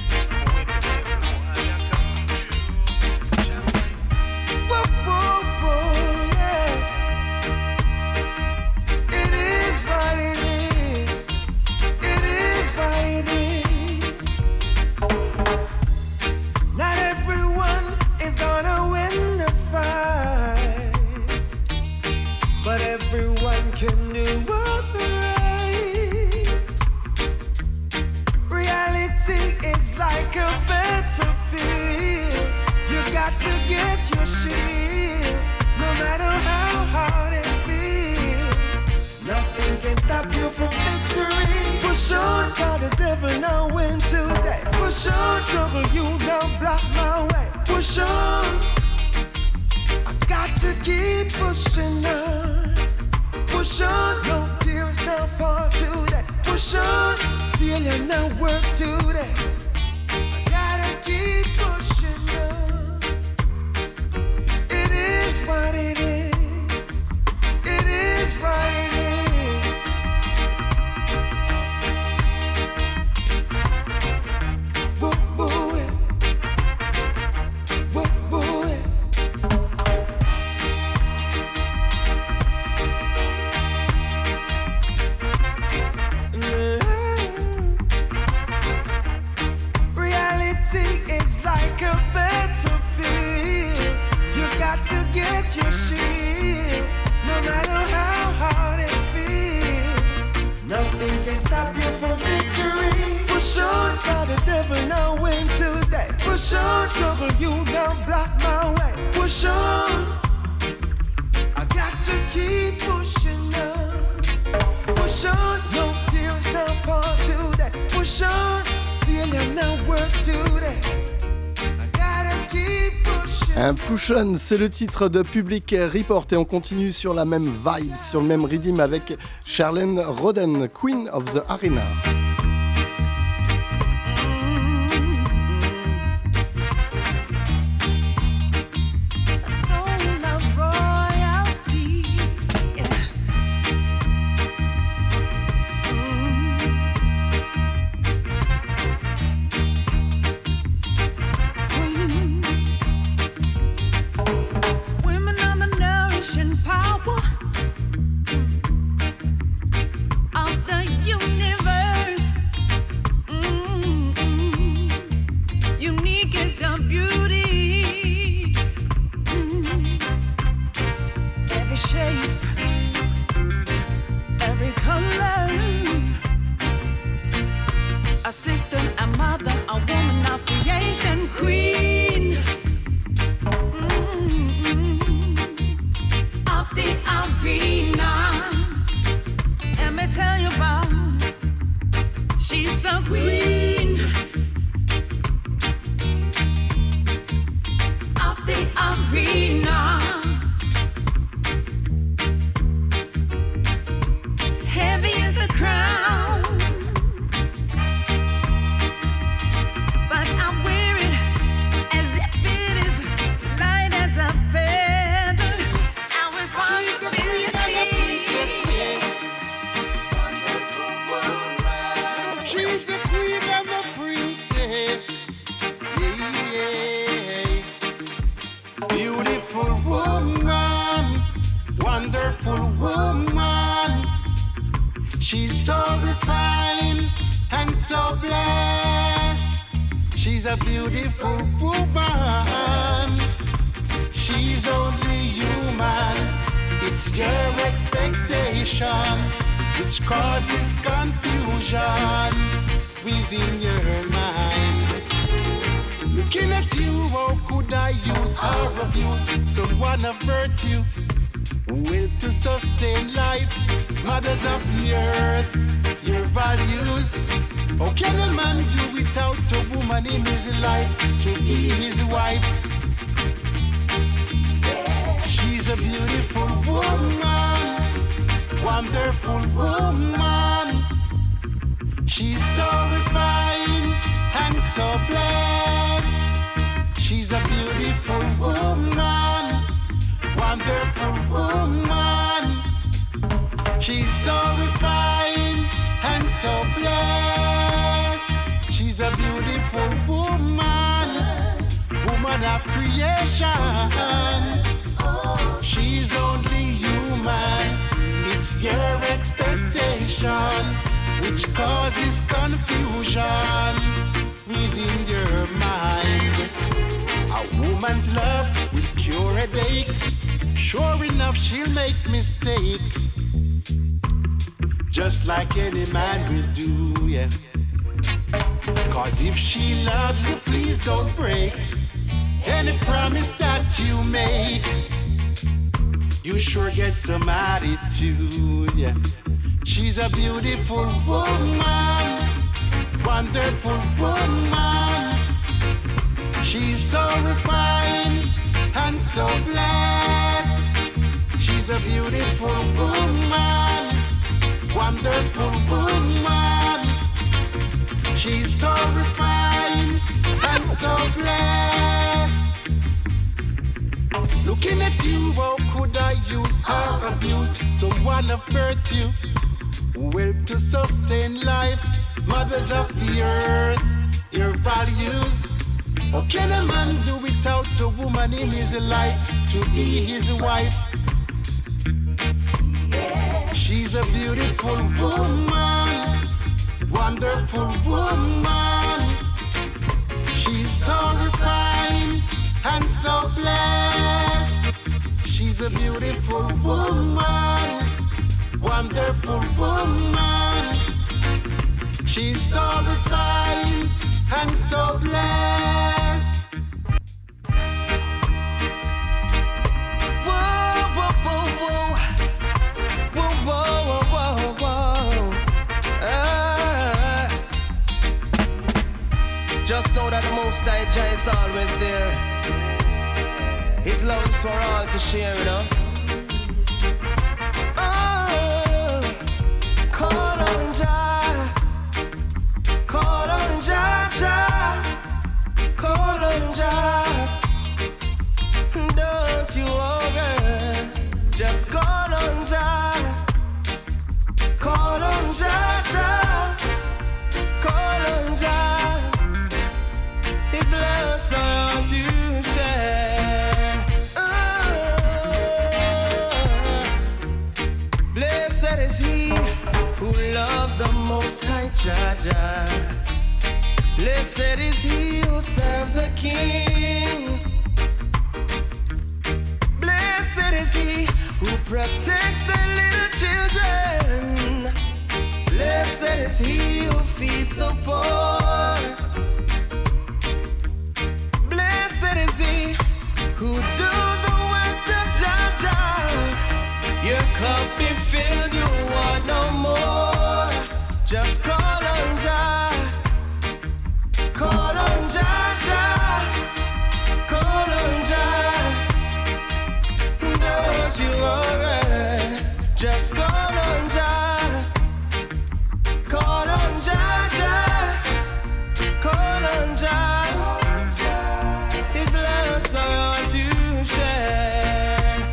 Can do what's right. Reality is like a battlefield. You got to get your shield. No matter how hard it feels, nothing can stop you from victory. Push on, cause the devil now win today. Push on, trouble you don't block my way. Push on, I got to keep pushing on. Push on, no tears now fall today. Push on, failure now work today. I gotta keep pushing on. It is what it is. It is what it is. Whoop, boo it. Whoop, boo it. It's like a battlefield. You got to get your shield. No matter how hard it feels, nothing can stop you from victory. Push on, cause the devil now win today. Push on, trouble you don't block my way. Push on, I got to keep pushing on. Push on, no tears now fall today. Push on, failure now work today. I gotta keep pushing. Un push-on, c'est le titre de Public Report et on continue sur la même vibe, sur le même rhythm avec Charlene Roden, Queen of the Arena. Of the universe. so blessed. She's a beautiful woman. She's only human. It's your expectation which causes confusion within your mind. Looking at you, how could I use or abuse someone of virtue? Will to sustain life, mothers of the earth, your values. How can a man do without a woman in his life to be his wife? She's a beautiful woman, wonderful woman. She's so refined and so blessed. She's a beautiful woman, wonderful woman. She's so refined and so blessed. She's a beautiful woman, woman of creation. She's only human. It's your expectation which causes confusion within your mind. A woman's love will cure a headache. Sure enough, she'll make mistake, just like any man will do, yeah. Cause if she loves you, please don't break any promise that you make. You sure get some attitude, yeah. She's a beautiful woman, wonderful woman. She's so refined and so blessed. She's a beautiful woman, wonderful woman. She's so refined and so blessed. Looking at you, how could I use or abuse someone of virtue? Well, to sustain life, mothers of the earth, your values. How can a man do without a woman in his life to be his wife? She's a beautiful woman, wonderful woman. She's so refined and so blessed. She's a beautiful woman, wonderful woman. She's so refined and so blessed. Whoa, whoa, whoa, whoa. Whoa, whoa, whoa, whoa, whoa. Just know that the Most High Jah is always there. His love is for all to share, you know. Call on Jah, call on Jah, Jah, call on Jah. Don't you worry, just call on Jah, call on Jah, Jah, call on Jah. His love's all to share. Blessed is he who loves the Most High Jah Jah. Blessed is he who serves the King. Blessed is he who protects the little children. Blessed is he who feeds the poor. Blessed is he who do the works of Jah Jah. Your cup be filled, you want no more. Just call on Jah, call on Jah Jah, call on Jah. Don't you worry, just call on Jah, call on Jah Jah, call on Jah. His love's for all to share.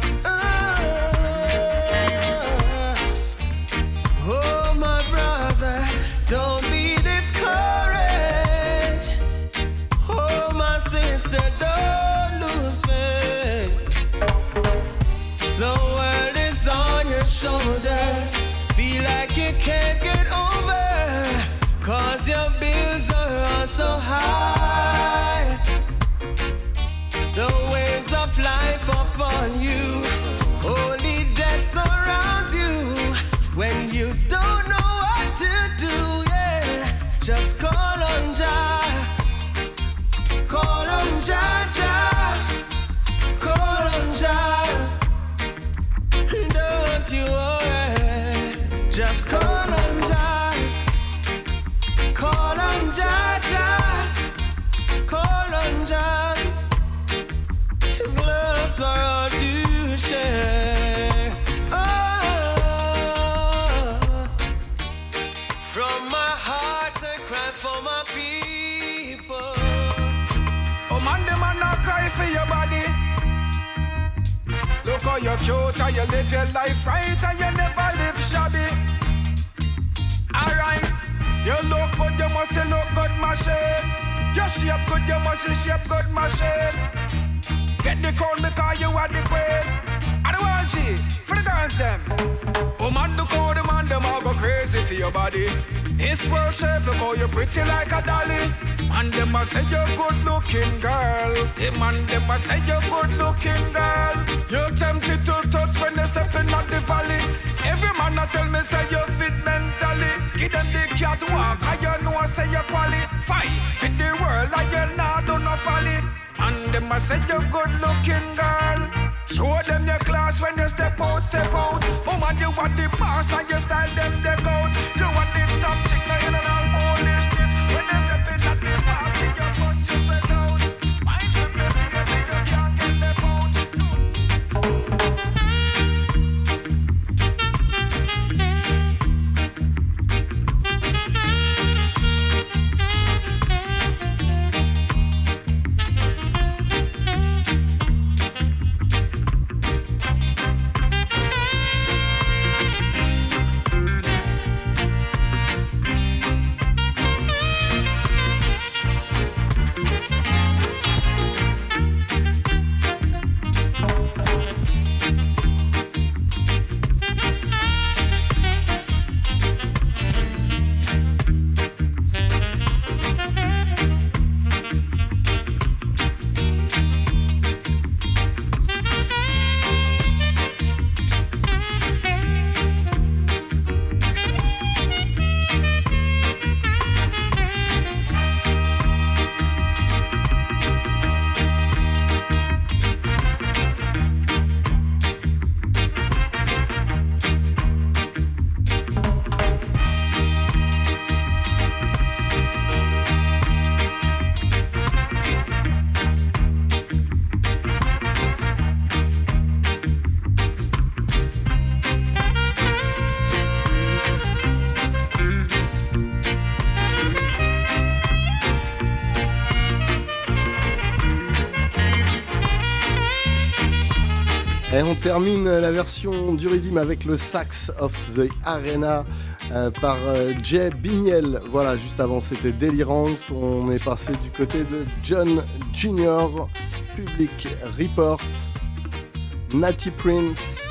Oh, my brother, don't be discouraged. Oh, my sister, don't lose faith. The world is on your shoulders. Feel like you can't get over, 'cause your bills are all so high, the waves of life upon you, holy death surrounds you. When you don't know what to do, yeah, just call on Jah, call on Jah, Jah, call on Jah. Don't you worry, just call on Jah, call on Jah, Jah, call on Jah. His love's for all to share. From my heart I cry for my people. Oh man, them man not cry for your body. Look how you're cute and you live your life right and you never live shabby. Alright, you look good, you must look good, machine. You shape good, you must shape good, machine. Get the crown because you are the queen. I don't want G for the girls them. Oh man, look how the man them all go crazy for your body. This world shape, look how you pretty like a dolly. Man them a say you're good looking girl. The man them a say you're good looking girl. You're tempted to touch when they step in at the valley. Every man a tell me say you fit mentally. Give them the cat walk, and you know say you qualify. Fit the world and you not do no folly. And them a say you're good looking girl. Show them your class when you step out, step out. Oh man, you want the boss and you style them deck out. You want the top chick, now you know all foolishness. When you step in at the party, you must you sweat out. Mind from the baby, you can't get left out. Et on termine la version du Rhythm avec le Sax of the Arena par Jay Bignel. Voilà, juste avant c'était Delirance. On est passé du côté de John Jr., Public Report, Natty Prince,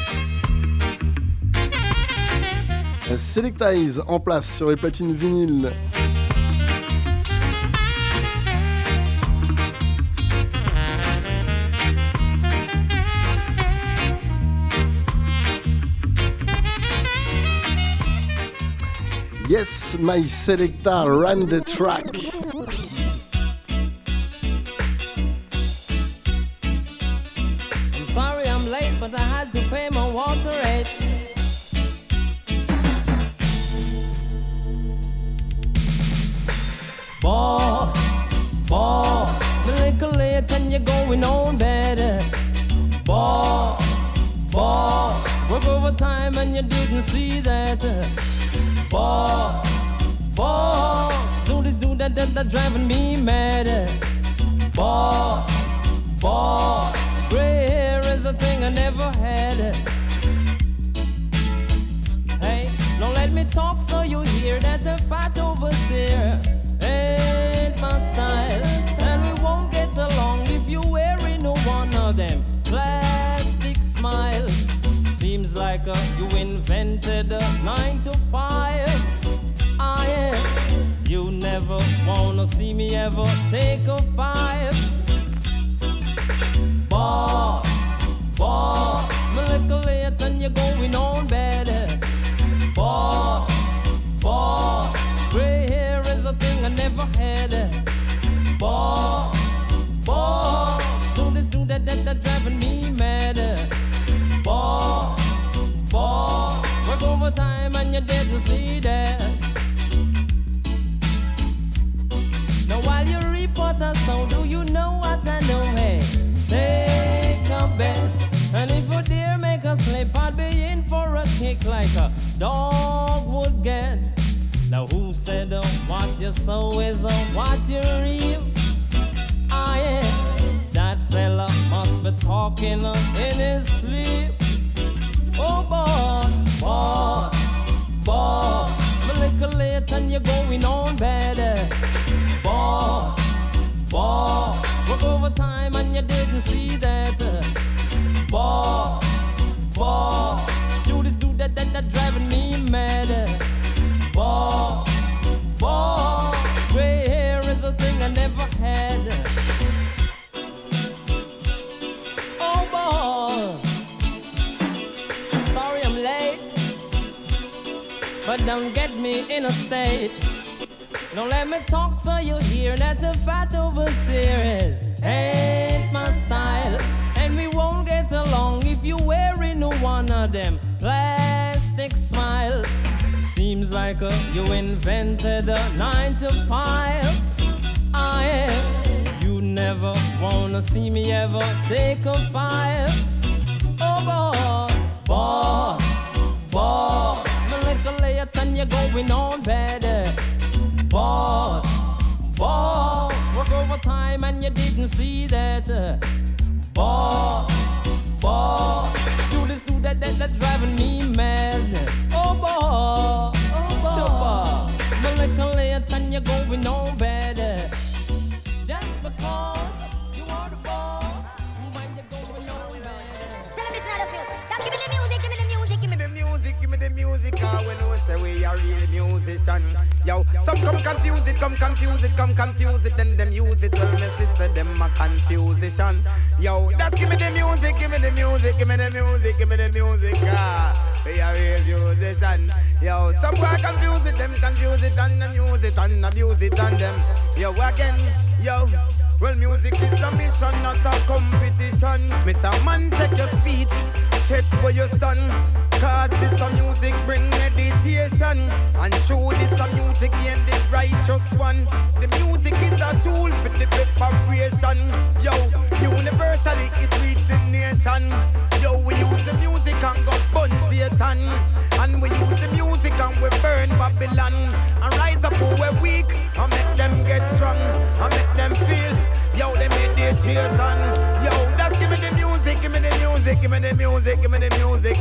Selectize en place sur les platines vinyles. Yes, my selector ran the track. I'm sorry I'm late, but I had to pay my water rate. Boss, a little late and you're going on better. Boss, work overtime and you didn't see that. Boss, do this, do that, that driving me mad. Boss, gray hair is a thing I never had. Hey, don't let me talk so you hear that the fat overseer ain't my style. And we won't get along if you're wearing one of them plastic smiles. Seems like you invented a 9 to 5. You you never wanna see me ever take a 5. Boss, boss, me little late and you're going on better. Boss, boss, gray hair is a thing I never had. Boss, boss, do this, do that, that driving me mad. Boss, boss, work overtime and you didn't see that. Now while you report a sound, do you know what I know? Hey, take a bet, and if you dare make a slip, I'd be in for a kick like a dog would get. Now who said what you sow is what you reap? I am. That fella must be talking in his sleep. Oh boss, boss, boss, a little late and you're going on better. Boss, boss, work overtime and you didn't see that. Boss, boss, do this, do that, that driving me mad. Boss, boss, gray hair is a thing I never had. Oh boss, I'm sorry I'm late, but don't get me in a state. Don't let me talk so you hear that the fat overseer ain't my style. And we won't get along if you wearing one of them plastic smile. Seems like you invented a 9 to 5. I am. You never wanna see me ever take a 5. Oh boss, boss, boss, my little late and you're going on better. Boss, boss, work overtime and you didn't see that. Boss, boss, do this, do that, that driving me mad. Oh boss, boss, my little late and you're going on better. Just because you are the boss, when you're going on better. Tell me it's not a feel. Give me the music, give me the music, give me the music. Give me the music, we know say we are real musician. Yo, some come confuse it, come confuse it, come confuse it, then them use it. Well, my sister, them a confusion. Yo, just give me the music, give me the music, give me the music, give me the music. We are real musician. Yo, some boy confuse it, them confuse it, and abuse it, and abuse it, and them. Yo, again, yo. Well, music is a mission, not a competition. Mr. Man, take your speech, check for your son. Cause this a music bring meditation. And through this a music ain't the righteous one. The music is a tool for the preparation. Yo, universally it reach the nation. Yo, we use the music and go burn Satan. And we use the music and we burn Babylon. And rise up who we're weak and make them get strong. And make them feel, yo, they meditation. Yo, just give me the music, give me the music, give me the music, give me the music.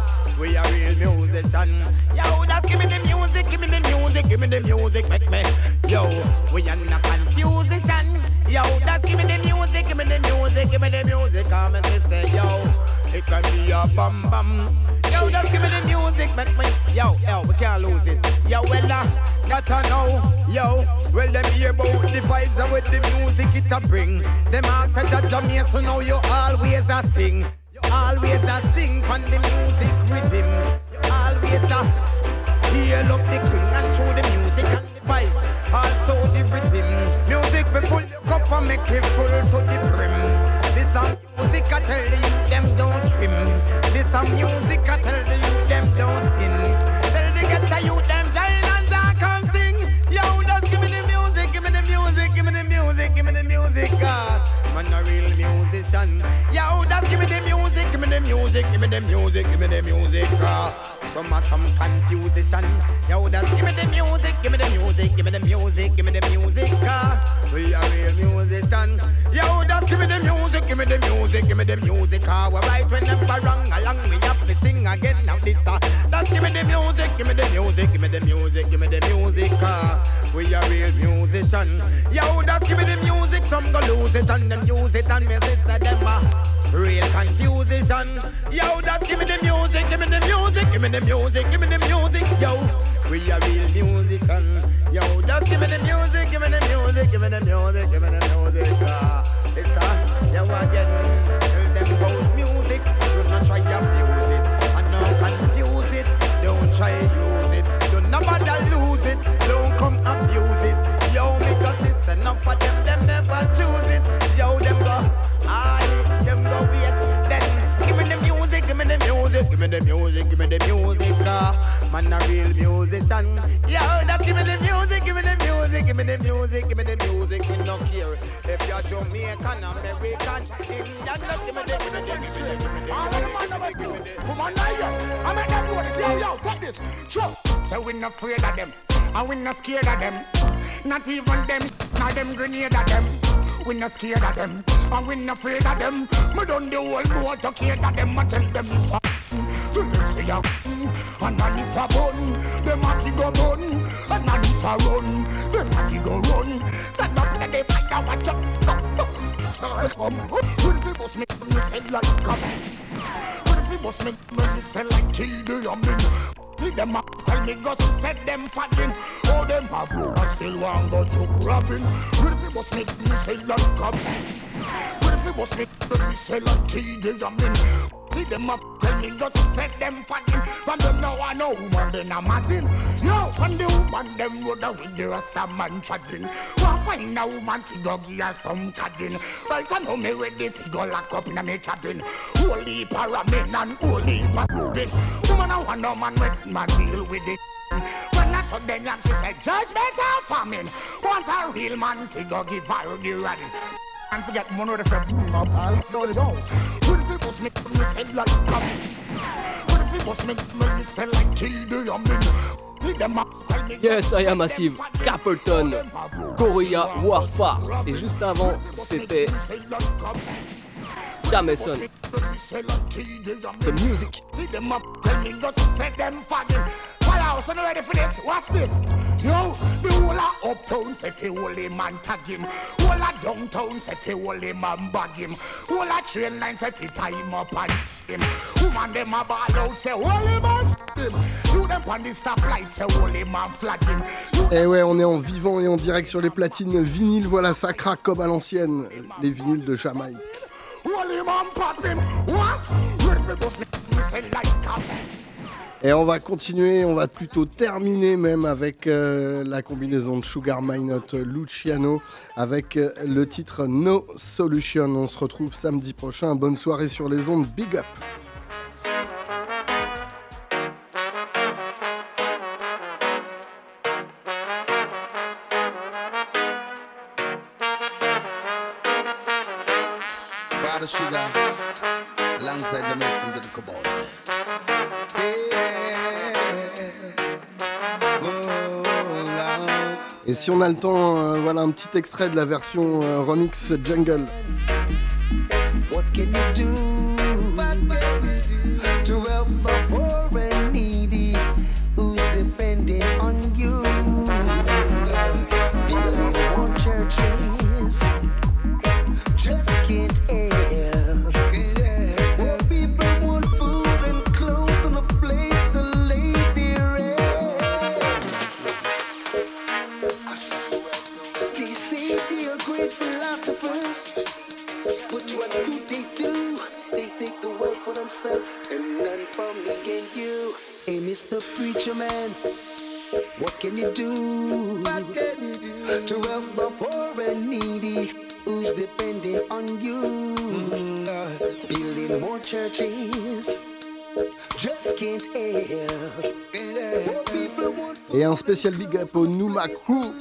We are real musician. Yo, just give me the music, give me the music, give me the music, make me. Yo, we are not confusion. Yo, just give me the music, give me the music, give me the music. Come and say, yo, it can be a bam bam. Yo, just give me the music, make me. Yo, we can't lose it. Yo, well, that I know. Yo, well, them hear about the vibes and with the music it a bring. Them ask that Jamaican, so now you always a sing. Always a sing from the music rhythm. Always a heal up the king and show the music and the vibes. Also the rhythm. Music for full your cup and make it full to the brim. This a music I tell you them don't trim. This a music I tell you them don't sin. Tell the get the you them giant and I come sing. Yo, just give me the music, give me the music, give me the music, give me the music. Man a real musician. Yo, just give me the music, give me the music, give me the music, give me the music. Some confusion. Yo, just give me the music, give me the music, give me the music, give me the music. We are real musician. Yo, just give me the music, give me the music, give me the music. We're right whenever wrong along, we have to sing again. Now this, just give me the music, give me the music, give me the music, give me the music. We are real musician. Yo, just give me the music, some go lose it and them use it and me sister them real confusion. Yo, just give me the music, give me the music, give me the music, give me the music. Yo, we are real musicians. Yo, just give me the music, give me the music, give me the music, give me the music. It's yo again, tell them about music. Do not try to abuse it and not confuse it. Don't try to use it. Do not bother lose it. Don't come abuse it. Yo, because it's enough for them. Them never choose it. Yo, them go. Them go waste. Then give me the music, give me the music, give me the music, give me the music. Man, a real musician. Yo, just give me the music, give me the music, give me the music, give me the music. We no care if you're Jamaican, American, Indian. Just give me the music. All of the man give me the. Come on, I make them know this. Yo, take this. Sure. So we not afraid of them, and we not scared of them. Not even them, not them grenade of them. We not scared of them, and we not afraid of them. Me done the whole motor care of them and tell them if to them say ya, and not if a bun, them have to go bun, and not if a run, them have to go run. Stand up and they fight out watch up. When if it was me say like come, when if it was me say like kill the youngin. See them a tell me go set them fagging. Oh them have I still want go choke robbing. When if it was me say like come, when if it was me say like kill the youngin. See them up, tell me just set them fagging. From them now I know woman then I'm Martin. Yo, when the woman them would have with the rasta man chatting. Well, find a woman figure give her some cadding. Right I know me ready figure lock up in a me cabin. Holy paramin and holy paramin. Woman I want no man with man deal with it. When I saw them and she said judgment of famine. Want a real man figure give her the run. And forget money the friend up all don't go. When if it was me say like come. When if it was me say like kill the youngin. See them up tell me. Yes, I am Massive, Capleton, Korea, Warfare. Et juste avant, c'était Jameson. The music. See them up tell me just set them fagging. Follow, so you ready for this? Watch this. Yo, the whole of uptown say fi holy man tag him. Whole of downtown say fi holy man bag him. Whole of train line say fi tie him up and him. Woman them a ball out say holy man him. You them on the stoplight say holy man flag him. Et ouais, on est en vivant et en direct sur les platines vinyles. Voilà, ça craque comme à l'ancienne. Les vinyles de Jamaïque. Holy man pop him. What? Say like come. Et on va continuer, on va plutôt terminer même avec la combinaison de Sugar Minott Luciano avec le titre No Solution. On se retrouve samedi prochain. Bonne soirée sur les ondes. Big up. Father Sugar, alongside the messing to the cabal. Et si on a le temps, voilà un petit extrait de la version remix Jungle. What can you do? To help the poor and needy who's depending on you? Building more churches just can't help. More people want food and clothes and a place to lay their head. They say they are great philanthropists, but what do? They take the world for themselves and none for me and you. Hey, Mr. Preacher Man, what can you do? What can you do to help the poor and needy who's depending on you? Building more churches just can't help. Et un spécial big up au Numa Crew.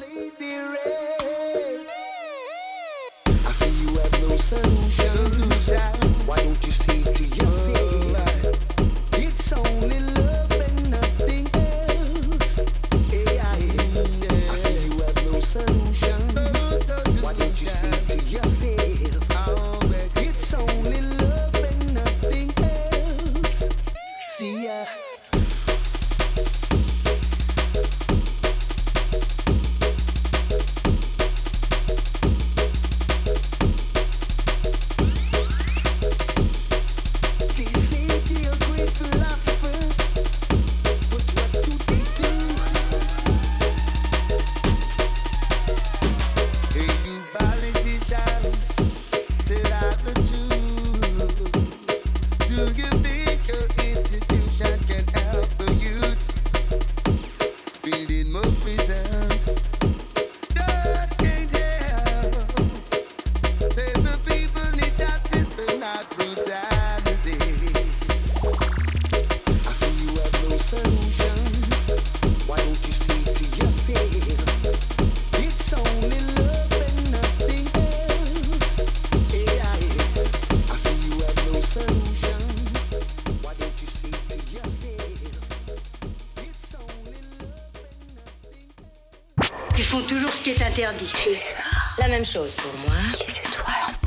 I see you have no solution. Why don't you say to yourself, it's only love and nothing else. I see you have no solution. Why don't you say to yourself, it's only love and nothing else. See ya. Ils font toujours ce qui est interdit. Plus ça. La même chose pour moi. C'est toi en